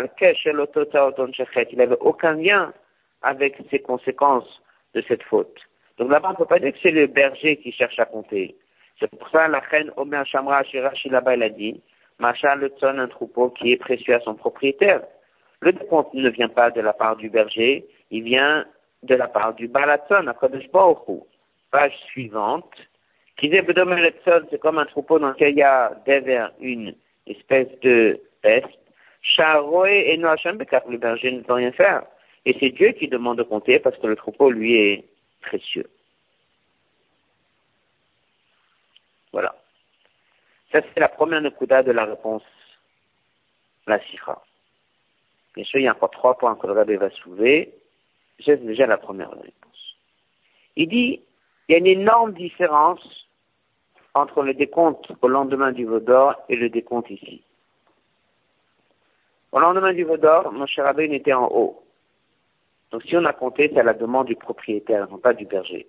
aucun lien avec ces conséquences de cette faute. Donc là-bas, on ne peut pas dire que c'est le berger qui cherche à compter. C'est pour ça la reine Omer Shamra Shirashi là-bas, elle a dit, Macha le tson, un troupeau qui est précieux à son propriétaire. Le décompte ne vient pas de la part du berger, il vient de la part du Balatson, à Kodesh Baruch Hu. Page suivante. C'est comme un troupeau dans lequel il y a derrière une espèce de peste. Charoé et Noacham Bekar, le berger ne peut rien faire. Et c'est Dieu qui demande de compter parce que le troupeau, lui, est précieux. Voilà. Ça, c'est la première nekuda de la réponse, la sifra. Bien sûr, il y a encore 3 points que le rabbin va soulever. J'ai déjà la première réponse. Il dit, il y a une énorme différence entre le décompte au lendemain du veau d'or et le décompte ici. Au lendemain du veau d'or, Moshe Rabbeinu était en haut. Donc si on a compté, c'est à la demande du propriétaire, non pas du berger.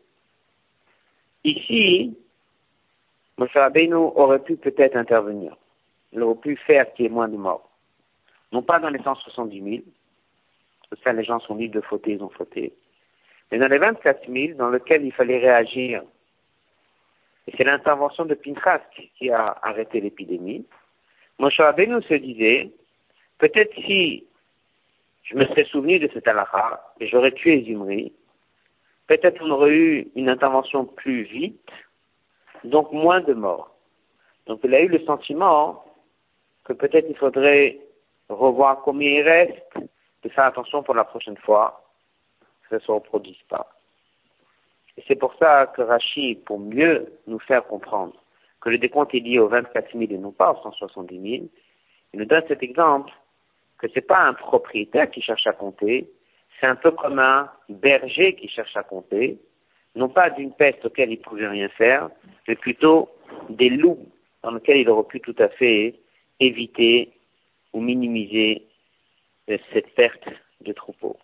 Ici, Moshe Rabbeinu aurait pu peut-être intervenir. Il aurait pu faire qu'il y ait moins de morts. Non pas dans les 170 000, parce que ça les gens sont libres de fauter, ils ont fauté. Mais dans les 24 000, dans lesquels il fallait réagir. Et c'est l'intervention de Pinchas qui a arrêté l'épidémie. Moshe Rabbeinu se disait, peut-être si je me serais souvenu de cet halakha et j'aurais tué Zimri, peut-être on aurait eu une intervention plus vite, donc moins de morts. Donc il a eu le sentiment que peut-être il faudrait revoir combien il reste, de faire attention pour la prochaine fois, que ça ne se reproduise pas. Et c'est pour ça que Rashi, pour mieux nous faire comprendre que le décompte est lié aux 24 000 et non pas aux 170 000, il nous donne cet exemple que c'est pas un propriétaire qui cherche à compter, c'est un peu comme un berger qui cherche à compter, non pas d'une peste auquel il pouvait rien faire, mais plutôt des loups dans lesquels il aurait pu tout à fait éviter ou minimiser cette perte de troupeau.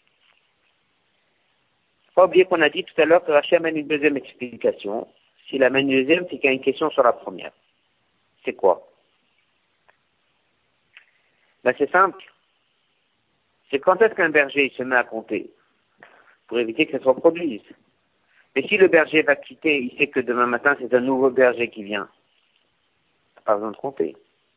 Pas oublier qu'on a dit tout à l'heure que Rachel amène une deuxième explication. S'il amène une deuxième, c'est qu'il y a une question sur la première. C'est quoi? Ben c'est simple. C'est quand est-ce qu'un berger se met à compter? Pour éviter que ça se reproduise. Mais si le berger va quitter, il sait que demain matin, c'est un nouveau berger qui vient. Pas besoin de compter.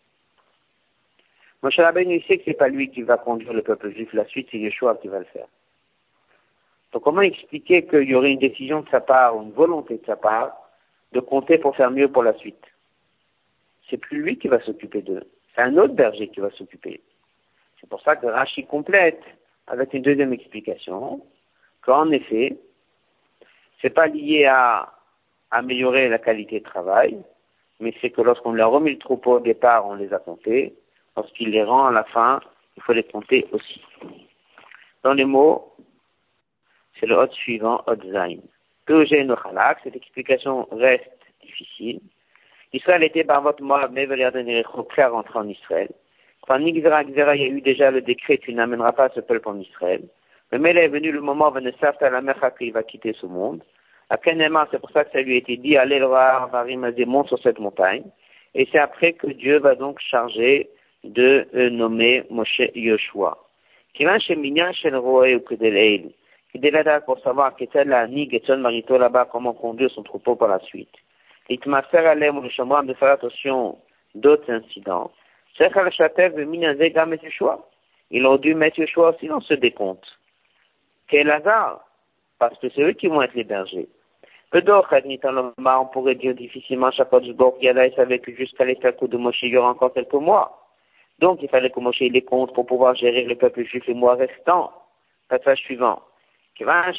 Moshe Rabbeinu, il sait que c'est pas lui qui va conduire le peuple juif. La suite, c'est Yeshua qui va le faire. Donc comment expliquer qu'il y aurait une décision de sa part, ou une volonté de sa part, de compter pour faire mieux pour la suite? C'est plus lui qui va s'occuper d'eux. C'est un autre berger qui va s'occuper. C'est pour ça que Rashi complète avec une deuxième explication, qu'en effet, c'est pas lié à améliorer la qualité de travail, mais c'est que lorsqu'on leur a remis le troupeau au départ, on les a comptés. Lorsqu'il les rend à la fin, il faut les compter aussi. Dans les mots, c'est le hot suivant, hot zain. Cette explication reste difficile. Israël était Barvot Moab, mais prêt à rentrer en Israël. Quand Nigzera, il y a eu déjà le décret, tu n'amèneras pas ce peuple en Israël. Mais là est venu le moment où la Mecha qu'il va quitter ce monde. À Kenema, c'est pour ça que ça lui a été dit, allez le voir, Varimazé, monte sur cette montagne. Et c'est après que Dieu va donc charger de nommer Moshe Yoshua. Qui va chez Minyan, chez le roi ou que de l'Eil. Qui est pour savoir qu'était la Nig et son marito là-bas, comment conduire son troupeau par la suite. Il m'a fait aller, mon chambre, de faire attention d'autres incidents. C'est qu'à la châtelle de Minazé, Gam et Yoshua. Ils ont dû mettre Yoshua aussi dans ce décompte. Quel hasard! Parce que c'est eux qui vont être les bergers. On pourrait dire difficilement, Chakodjbor, Yada, il savait que jusqu'à l'état de Moshe, il y aura encore quelques mois. Donc, il fallait que Moshe les compte pour pouvoir gérer le peuple juif les mois restants. Passage suivant. Mais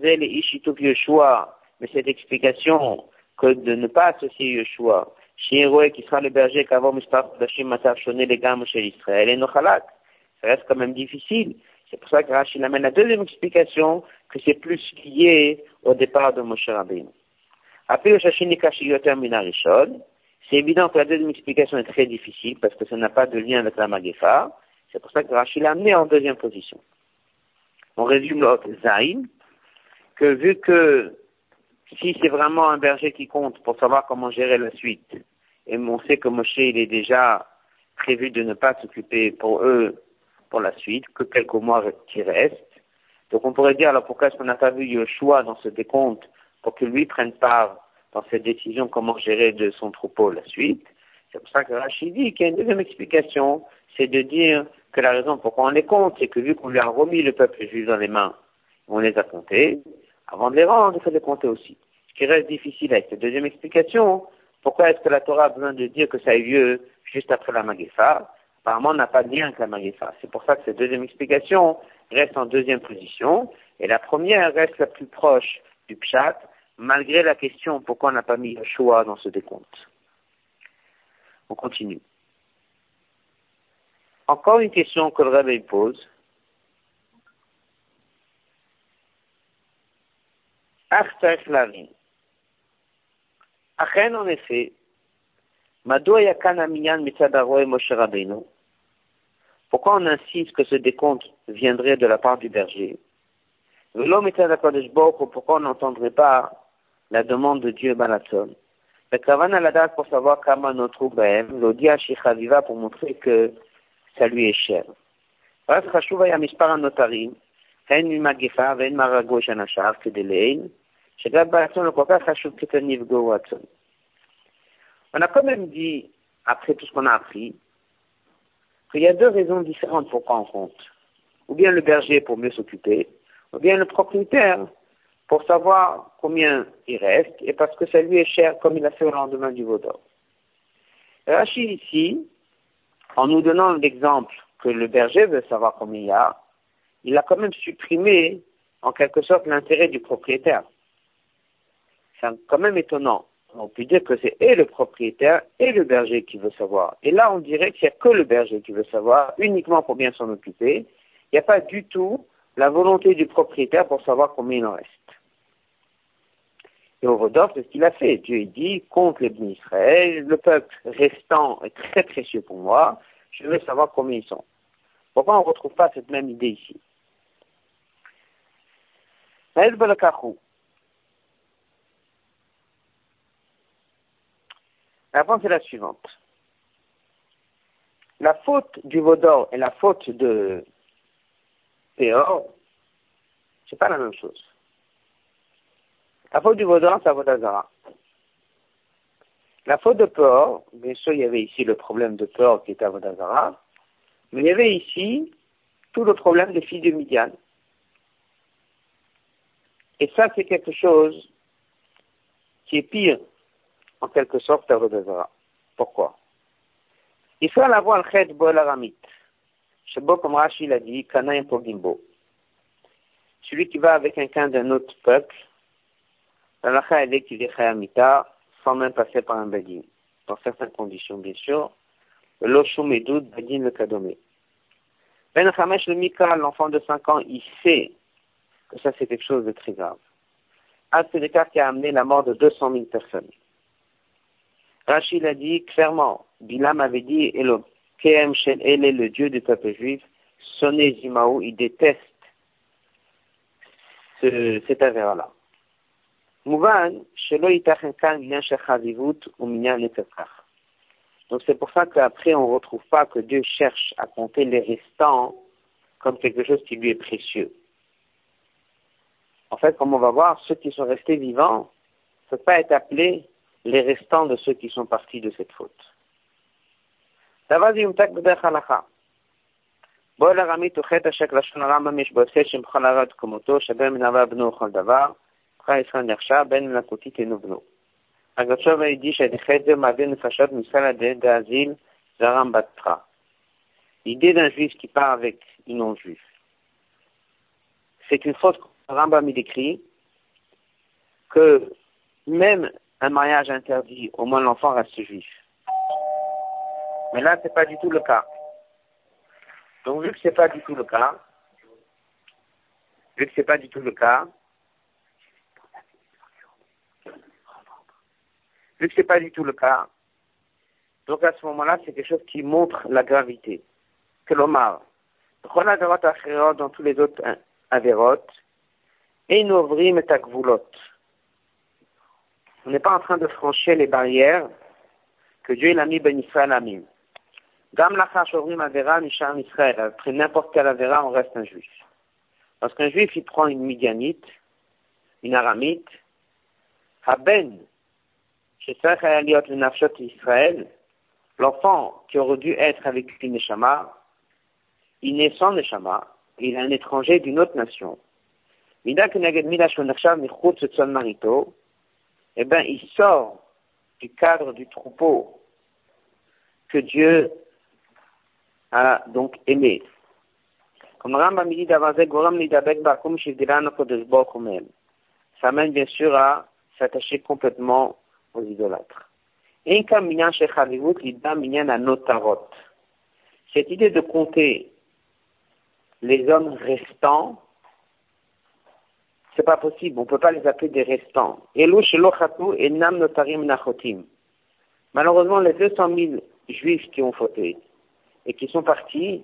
cette explication que de ne pas associer Yeshua, Shieroé qui sera le berger qu'avant Mustaf Dashim Matar Shoné les gammes chez Israël et Nochalak, ça reste quand même difficile. C'est pour ça que Rachid amène la deuxième explication, que c'est plus lié au départ de Moshe Rabbeinu. Après le Shashinika Shiyoter Minarishon, c'est évident que la deuxième explication est très difficile parce que ça n'a pas de lien avec la Magefa. C'est pour ça que Rachid l'a amené en deuxième position. On résume l'autre Zayn, que vu que si c'est vraiment un berger qui compte pour savoir comment gérer la suite, et on sait que Moshe il est déjà prévu de ne pas s'occuper pour eux pour la suite, que quelques mois qui restent. Donc on pourrait dire alors pourquoi est-ce qu'on n'a pas vu Yoshua dans ce décompte pour que lui prenne part dans cette décision comment gérer de son troupeau la suite. C'est pour ça que Rachid dit qu'il y a une deuxième explication, c'est de dire que la raison pourquoi on les compte, c'est que vu qu'on lui a remis le peuple juif dans les mains, on les a comptés, avant de les rendre, il faut les compter aussi. Ce qui reste difficile avec cette deuxième explication, pourquoi est-ce que la Torah a besoin de dire que ça a eu lieu juste après la Magefa? Apparemment, on n'a pas de lien avec la Magefa. C'est pour ça que cette deuxième explication reste en deuxième position, et la première reste la plus proche du Pshat, malgré la question pourquoi on n'a pas mis le choix dans ce décompte. On continue. Encore une question que le Rebbe pose. Artach Lavin. Achen, en effet, Madoua Yakan Aminyan Mitzadaro et Moshe Rabbeinu. Pourquoi on insiste que ce décompte viendrait de la part du berger? Velo Mitzadakodesh Boko, pourquoi on n'entendrait pas la demande de Dieu Balatzon? Le Kavan à la date pour savoir Kama notre Bahem, l'Odia Shichaviva pour montrer que ça lui est cher. Ras Chashuva Yamispar Notarim, Hen Mimagefa, Ven Marago Shanashar, Kedelein, Shegab Balatzon, le Koka Chashuv Ketaniv Go Watson. On a quand même dit, après tout ce qu'on a appris, qu'il y a deux raisons différentes pour prendre en compte. Ou bien le berger pour mieux s'occuper, ou bien le propriétaire pour savoir combien il reste, et parce que ça lui est cher, comme il a fait au lendemain du Vaudor. Rachid ici, en nous donnant l'exemple que le berger veut savoir combien il a quand même supprimé, en quelque sorte, l'intérêt du propriétaire. C'est quand même étonnant. On peut dire que c'est et le propriétaire et le berger qui veut savoir. Et là, on dirait qu'il n'y a que le berger qui veut savoir, uniquement pour bien s'en occuper. Il n'y a pas du tout la volonté du propriétaire pour savoir combien il en reste. Et au Rodolphe, c'est ce qu'il a fait. Dieu dit, compte les bénis Israël, le peuple restant est très précieux pour moi, je veux savoir combien ils sont. Pourquoi on ne retrouve pas cette même idée ici? La réponse est la suivante. La faute du Vaudor et la faute de Péor, c'est pas la même chose. La faute du Vaudor, c'est à Vodazara. La faute de Péor, bien sûr, il y avait ici le problème de Péor qui était à Vodazara, mais il y avait ici tout le problème des filles de Midian. Et ça, c'est quelque chose qui est pire, en quelque sorte, à Vodazara. Pourquoi? Il faut avoir le chet bo l'aramit. Shebo, comme Rashi l'a dit, Kanaim Pogimbo. Celui qui va avec quelqu'un d'un autre peuple, la lacha elle est qu'il est chayamita, sans même passer par un badin. Dans certaines conditions, bien sûr. L'oshum et doud, badin le kadomé. Ben Chamesh le Mika, l'enfant de 5 ans, il sait que ça c'est quelque chose de très grave. C'est le cas qui a amené la mort de 200 000 personnes. Rachid a dit clairement, Bilam avait dit, Elokehem Shel Ele, le Dieu du peuple juif, Soné Zimaou, il déteste cet avéra-là. Mouvan, Shelo Itachenkan, Minyan Shechazivut, ou Minyan Netetzach. Donc c'est pour ça qu'après on ne retrouve pas que Dieu cherche à compter les restants comme quelque chose qui lui est précieux. En fait, comme on va voir, ceux qui sont restés vivants ne peuvent pas être appelés les restants de ceux qui sont partis de cette faute. Agachov a dit l'idée d'un juif qui part avec une non-juif. C'est une faute que Rambam il décrit que même un mariage interdit, au moins l'enfant reste juif. Mais là, c'est pas du tout le cas. Donc, vu que c'est pas du tout le cas, donc à ce moment-là, c'est quelque chose qui montre la gravité. Que l'Omar, dans tous les autres avérotes, et nous ouvrim et takvulot. On n'est pas en train de franchir les barrières que Dieu a mis ben Israël a mis. Gam lachar shovrim avera misham Israël. Après n'importe quel avéra, on reste un juif. Parce qu'un juif, il prend une midianite, une aramite, haben, shesach hayaliot le nafshot Israël, l'enfant qui aurait dû être avec une neshama, il naît sans neshama, il est un étranger d'une autre nation. Mida keneged mida shonachav michut tzon marito, eh ben, il sort du cadre du troupeau que Dieu a donc aimé. Comme Rambam dit d'Avazek Goram Nidabek Bakum Shivdiran Kodesh Bokumel. Ça mène bien sûr à s'attacher complètement aux idolâtres. Inka Minyan Shechavivut Lida Minyan Anotarot. Cette idée de compter les hommes restants, c'est pas possible, on peut pas les appeler des restants. Elu Shelo Chatu Enam Notarim Nachotim. Malheureusement, les 200 000 juifs qui ont fauté et qui sont partis,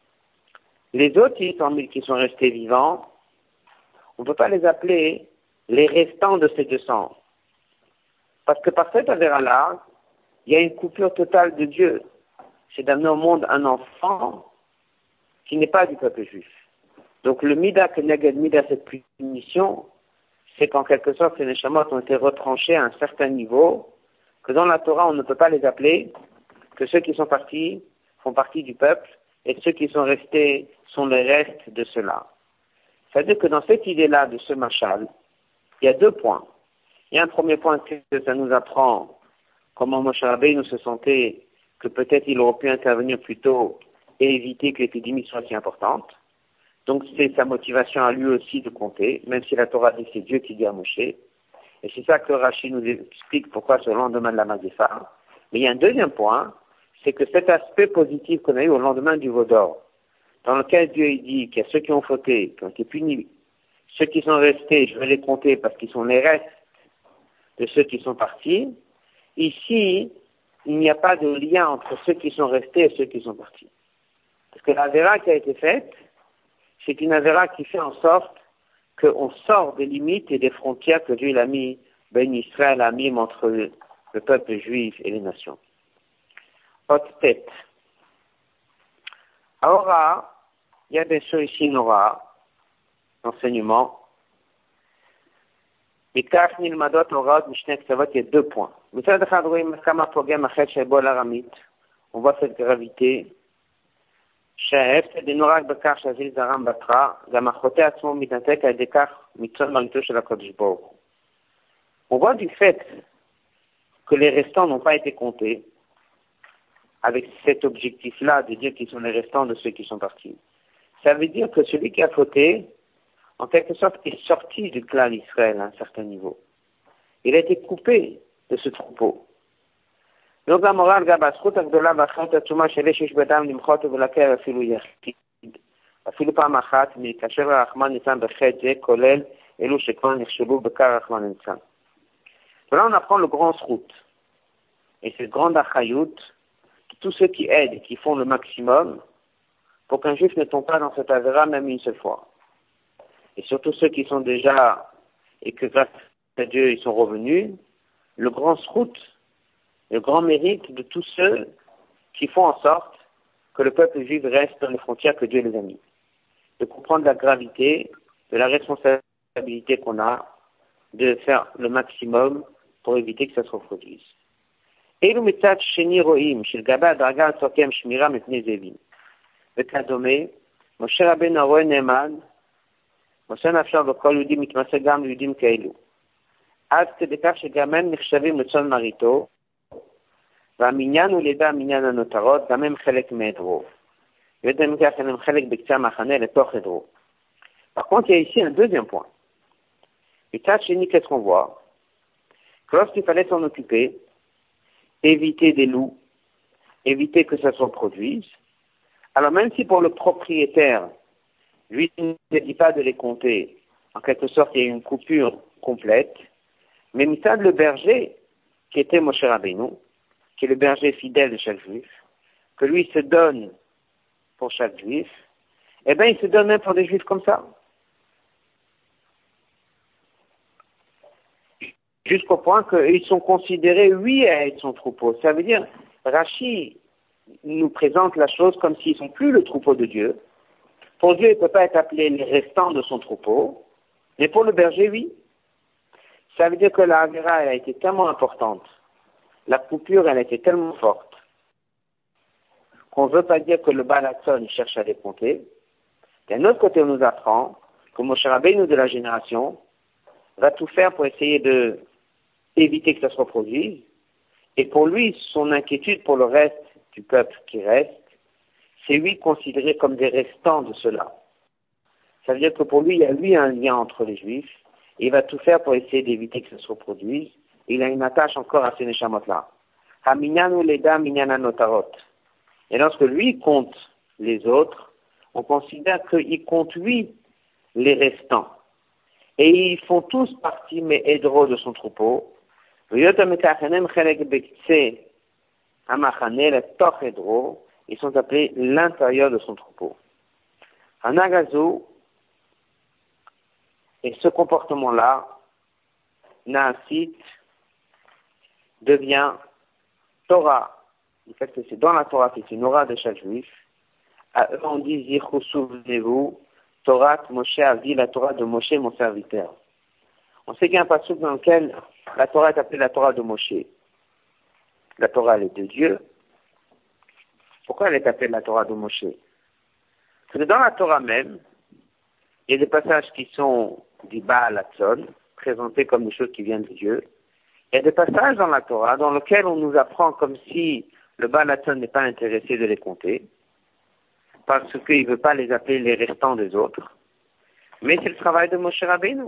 les autres 600 000 qui sont restés vivants, on ne peut pas les appeler les restants de ces 200. Parce que par cette avéra-là, il y a une coupure totale de Dieu. C'est d'amener au monde un enfant qui n'est pas du peuple juif. Donc le mida que neged mida, cette punition, c'est qu'en quelque sorte, ces neshamot ont été retranchés à un certain niveau, que dans la Torah, on ne peut pas les appeler, que ceux qui sont partis font partie du peuple, et ceux qui sont restés sont les restes de cela. C'est-à-dire que dans cette idée-là de ce machal, il y a deux points. Il y a un premier point que ça nous apprend comment Moshe Rabbeinu se sentait que peut-être il aurait pu intervenir plus tôt et éviter que l'épidémie soit si importante. Donc c'est sa motivation à lui aussi de compter, même si la Torah dit que c'est Dieu qui dit à Moshe. Et c'est ça que Rashi nous explique pourquoi ce lendemain de la Magéfa. Mais il y a un deuxième point, c'est que cet aspect positif qu'on a eu au lendemain du Vaudor, dans lequel Dieu dit qu'il y a ceux qui ont fauté, qui ont été punis, ceux qui sont restés, je vais les compter parce qu'ils sont les restes de ceux qui sont partis. Ici, il n'y a pas de lien entre ceux qui sont restés et ceux qui sont partis. Parce que la véra qui a été faite, c'est une avéra qui fait en sorte qu'on sort des limites et des frontières que Dieu a mis, Ben Israël a mis entre le peuple juif et les nations. Haute tête. Aura, il y a bien sûr ici une aura, enseignement. Il y a deux points. On voit cette gravité. On voit du fait que les restants n'ont pas été comptés avec cet objectif-là de dire qu'ils sont les restants de ceux qui sont partis. Ça veut dire que celui qui a fauté, en quelque sorte, est sorti du clan d'Israël à un certain niveau. Il a été coupé de ce troupeau. Donc la morale, Là, on apprend le grand srout. et cette grande achayout, tous ceux qui aident et qui font le maximum pour qu'un juif ne tombe pas dans cette avéra même une seule fois. Et surtout ceux qui sont déjà, et que grâce à Dieu ils sont revenus, le grand srout, le grand mérite de tous ceux qui font en sorte que le peuple juif reste dans les frontières que Dieu les a mis. De comprendre la gravité, de la responsabilité qu'on a, de faire le maximum pour éviter que ça se reproduise. Et le mitzat sheni roim, shel gaba adraga atzokem shmira mepnei zevim. וכדומה, משה רבנו הרואה נאמן, משה נפשו וכל יהודי מתמסר גם ליהודים כאלו. עד כדי כך שגם הם נחשבים לצאן מרעיתו, והמניין הוא לידי המניין הנותרות, גם הם חלק מעדרו. ויודעים כך הם חלק בקצה המחנה לתוך עדרו. Par contre, il y a ici un deuxième point. מצד שני, qu'est-ce qu'on voit? Que lorsqu'il fallait s'en occuper, éviter des loups, éviter que ça se reproduise, alors même si pour le propriétaire, lui ne dit pas de les compter, en quelque sorte il y a une coupure complète, mais Mithad le berger, qui était Moshe Rabbeinu, qui est le berger fidèle de chaque juif, que lui se donne pour chaque juif, eh bien il se donne même pour des juifs comme ça. Jusqu'au point qu'ils sont considérés, oui, à être son troupeau. Ça veut dire, Rashi nous présente la chose comme s'ils ne sont plus le troupeau de Dieu. Pour Dieu, il ne peut pas être appelé les restants de son troupeau, mais pour le berger, oui. Ça veut dire que la Avera, elle a été tellement importante, la coupure, elle a été tellement forte, qu'on ne veut pas dire que le Balatson cherche à les compter. D'un autre côté, on nous apprend que Moshe Rabbeinu de la génération va tout faire pour essayer de éviter que ça se reproduise, et pour lui, son inquiétude pour le reste du peuple qui reste, c'est lui considéré comme des restants de cela. Ça veut dire que pour lui, il y a lui un lien entre les juifs, et il va tout faire pour essayer d'éviter que ça se reproduise. Et il a une attache encore à ces neshamot-là. Haminyanu leda minyana notarot. Et lorsque lui compte les autres, on considère qu'il compte lui les restants. Et ils font tous partie, mais hédro de son troupeau. Ils sont appelés l'intérieur de son troupeau. Hanagazu, et ce comportement-là, Naasit, devient Torah. En fait, c'est dans la Torah, c'est une aura de chaque juif. À eux, on dit, Zichou, souvenez-vous, Torah, Moshe a dit la Torah de Moshe, mon serviteur. On sait qu'il y a un passage dans lequel la Torah est appelée la Torah de Moshe. La Torah, elle est de Dieu. Pourquoi elle est appelée la Torah de Moshe? Parce que dans la Torah même, il y a des passages qui sont du Baal Hatzon, présentés comme des choses qui viennent de Dieu. Il y a des passages dans la Torah dans lesquels on nous apprend comme si le Baal Hatzon n'est pas intéressé de les compter, parce qu'il ne veut pas les appeler les restants des autres. Mais c'est le travail de Moshe Rabbeinu.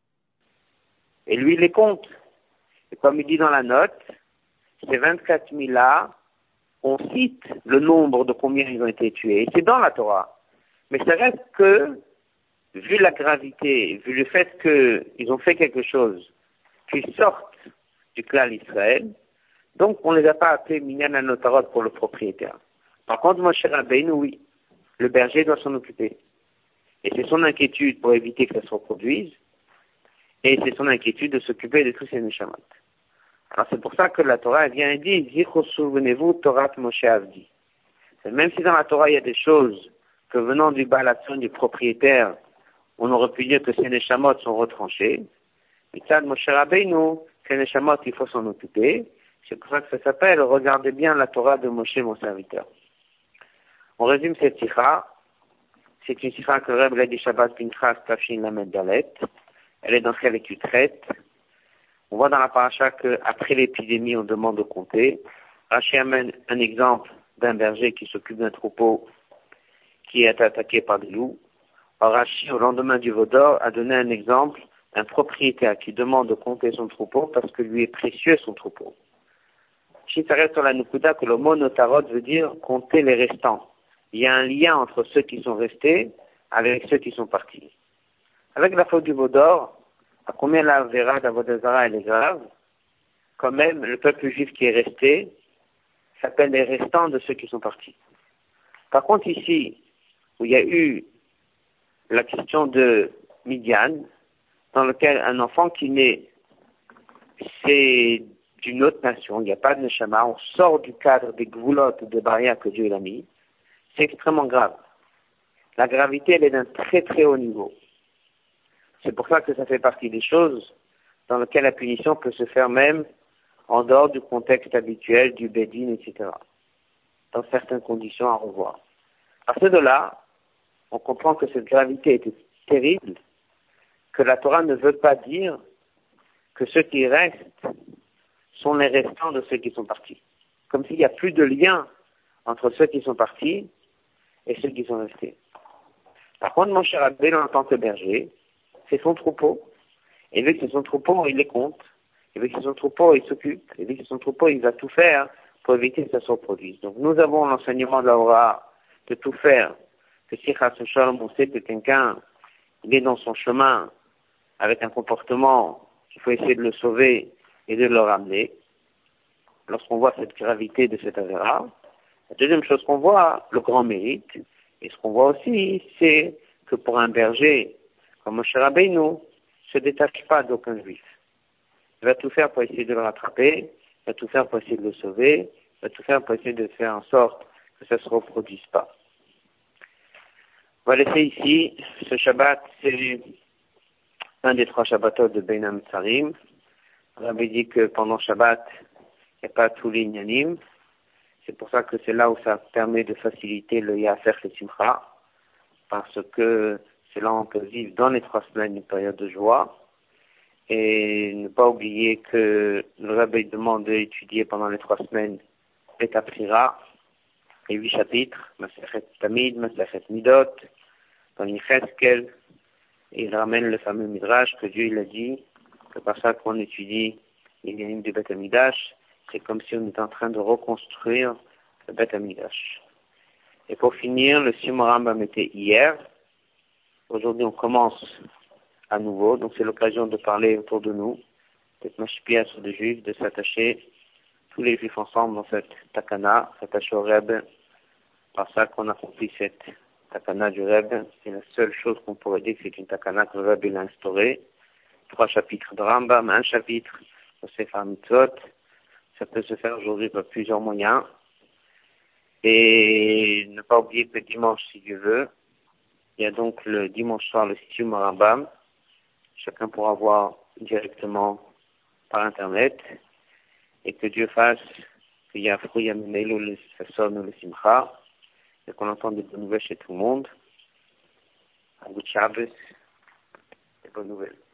Et lui, il les compte. Et comme il dit dans la note, ces 24 000 là, on cite le nombre de combien ils ont été tués. C'est dans la Torah. Mais ça reste que, vu la gravité, vu le fait qu'ils ont fait quelque chose, qu'ils sortent du clan Israël, donc on ne les a pas appelés Minyan Anotarot pour le propriétaire. Par contre, Moshe Rabbeinu, oui, le berger doit s'en occuper. Et c'est son inquiétude pour éviter que ça se reproduise, et c'est son inquiétude de s'occuper de tous ces neshamot. Alors c'est pour ça que la Torah vient et dit, Zichou, souvenez-vous, Torah Moshe Avdi. Même si dans la Torah il y a des choses que venant du Baal Hatzon, du propriétaire, on aurait pu dire que ces neshamot sont retranchés, mais ça, Moshe Rabbeinu, ces neshamot, il faut s'en occuper. C'est pour ça que ça s'appelle, regardez bien la Torah de Moshe, mon serviteur. On résume cette sikha. C'est une sikha que Reb l'a dit Shabbat Pinchas Tafshin Lamed Dalet. Elle est dans quelle tu traites. On voit dans la paracha qu'après l'épidémie, on demande de compter. Rashi amène un exemple d'un berger qui s'occupe d'un troupeau qui est attaqué par des loups. Or, Rashi, au lendemain du Vaudor, a donné un exemple d'un propriétaire qui demande de compter son troupeau parce que lui est précieux son troupeau. Si ça reste sur la Nukuda que le mot notarot veut dire compter les restants. Il y a un lien entre ceux qui sont restés avec ceux qui sont partis. Avec la faute du Vaudor, à combien la Vera d'Avodazara elle est grave? quand même, le peuple juif qui est resté s'appelle les restants de ceux qui sont partis. Par contre, ici, où il y a eu la question de Midian, dans lequel un enfant qui naît, c'est d'une autre nation, il n'y a pas de neshama, on sort du cadre des gvoulottes, des barrières que Dieu a mis, c'est extrêmement grave. La gravité, elle est d'un très très haut niveau. C'est pour ça que ça fait partie des choses dans lesquelles la punition peut se faire même en dehors du contexte habituel du Bédine, etc. Dans certaines conditions à revoir. À ce de là, on comprend que cette gravité était terrible, que la Torah ne veut pas dire que ceux qui restent sont les restants de ceux qui sont partis. Comme s'il n'y a plus de lien entre ceux qui sont partis et ceux qui sont restés. Par contre, mon cher Abbé, en tant que berger, c'est son troupeau. Et vu que c'est son troupeau, il les compte. Et vu que c'est son troupeau, il s'occupe. Et vu que c'est son troupeau, il va tout faire pour éviter que ça se reproduise. Donc nous avons l'enseignement de la Torah de tout faire. Que si Chas Shalom, on sait que quelqu'un, il est dans son chemin avec un comportement qu'il faut essayer de le sauver et de le ramener. Lorsqu'on voit cette gravité de cet avéra, la deuxième chose qu'on voit, le grand mérite, et ce qu'on voit aussi, c'est que pour un berger comme Moshe Rabbeinu, ne se détache pas d'aucun juif. Il va tout faire pour essayer de le rattraper, il va tout faire pour essayer de le sauver, il va tout faire pour essayer de faire en sorte que ça ne se reproduise pas. On va laisser ici, ce Shabbat, c'est un des 3 Shabbatot de Bein HaMetzarim. On avait dit que pendant Shabbat, il n'y a pas tous les Inyanim. C'est pour ça que c'est là où ça permet de faciliter le Yafer et Simcha, parce que c'est là où on peut vivre dans les 3 semaines une période de joie. Et ne pas oublier que le Rabbi demande d'étudier pendant les 3 semaines les Taprira, les 8 chapitres, Masechet Tamid, Masechet Midot, dans Yecheskel, et il ramène le fameux Midrash que Dieu il a dit, que par ça qu'on étudie les Yanim du Beth Amidash, c'est comme si on était en train de reconstruire le Beth Amidash. Et pour finir, le Siyum Rambam était hier. Aujourd'hui, on commence à nouveau, donc c'est l'occasion de parler autour de nous, d'être mashpia sur des juifs, de s'attacher tous les juifs ensemble dans cette takana, s'attacher au Reb, par ça qu'on accomplit cette takana du Reb. C'est la seule chose qu'on pourrait dire que c'est une takana que le Reb il a instaurée. 3 chapitres de Rambam, 1 chapitre de Sefer Mitzvot. Ça peut se faire aujourd'hui par plusieurs moyens. Et ne pas oublier que dimanche, si Dieu veut, il y a donc le dimanche soir le Siyum Rambam. Chacun pourra voir directement par Internet. Et que Dieu fasse qu'il y a un fruit à Menelo, le Sasson ou le Simcha. Et qu'on entende des bonnes nouvelles chez tout le monde. Un bout de Shabbos, des bonnes nouvelles.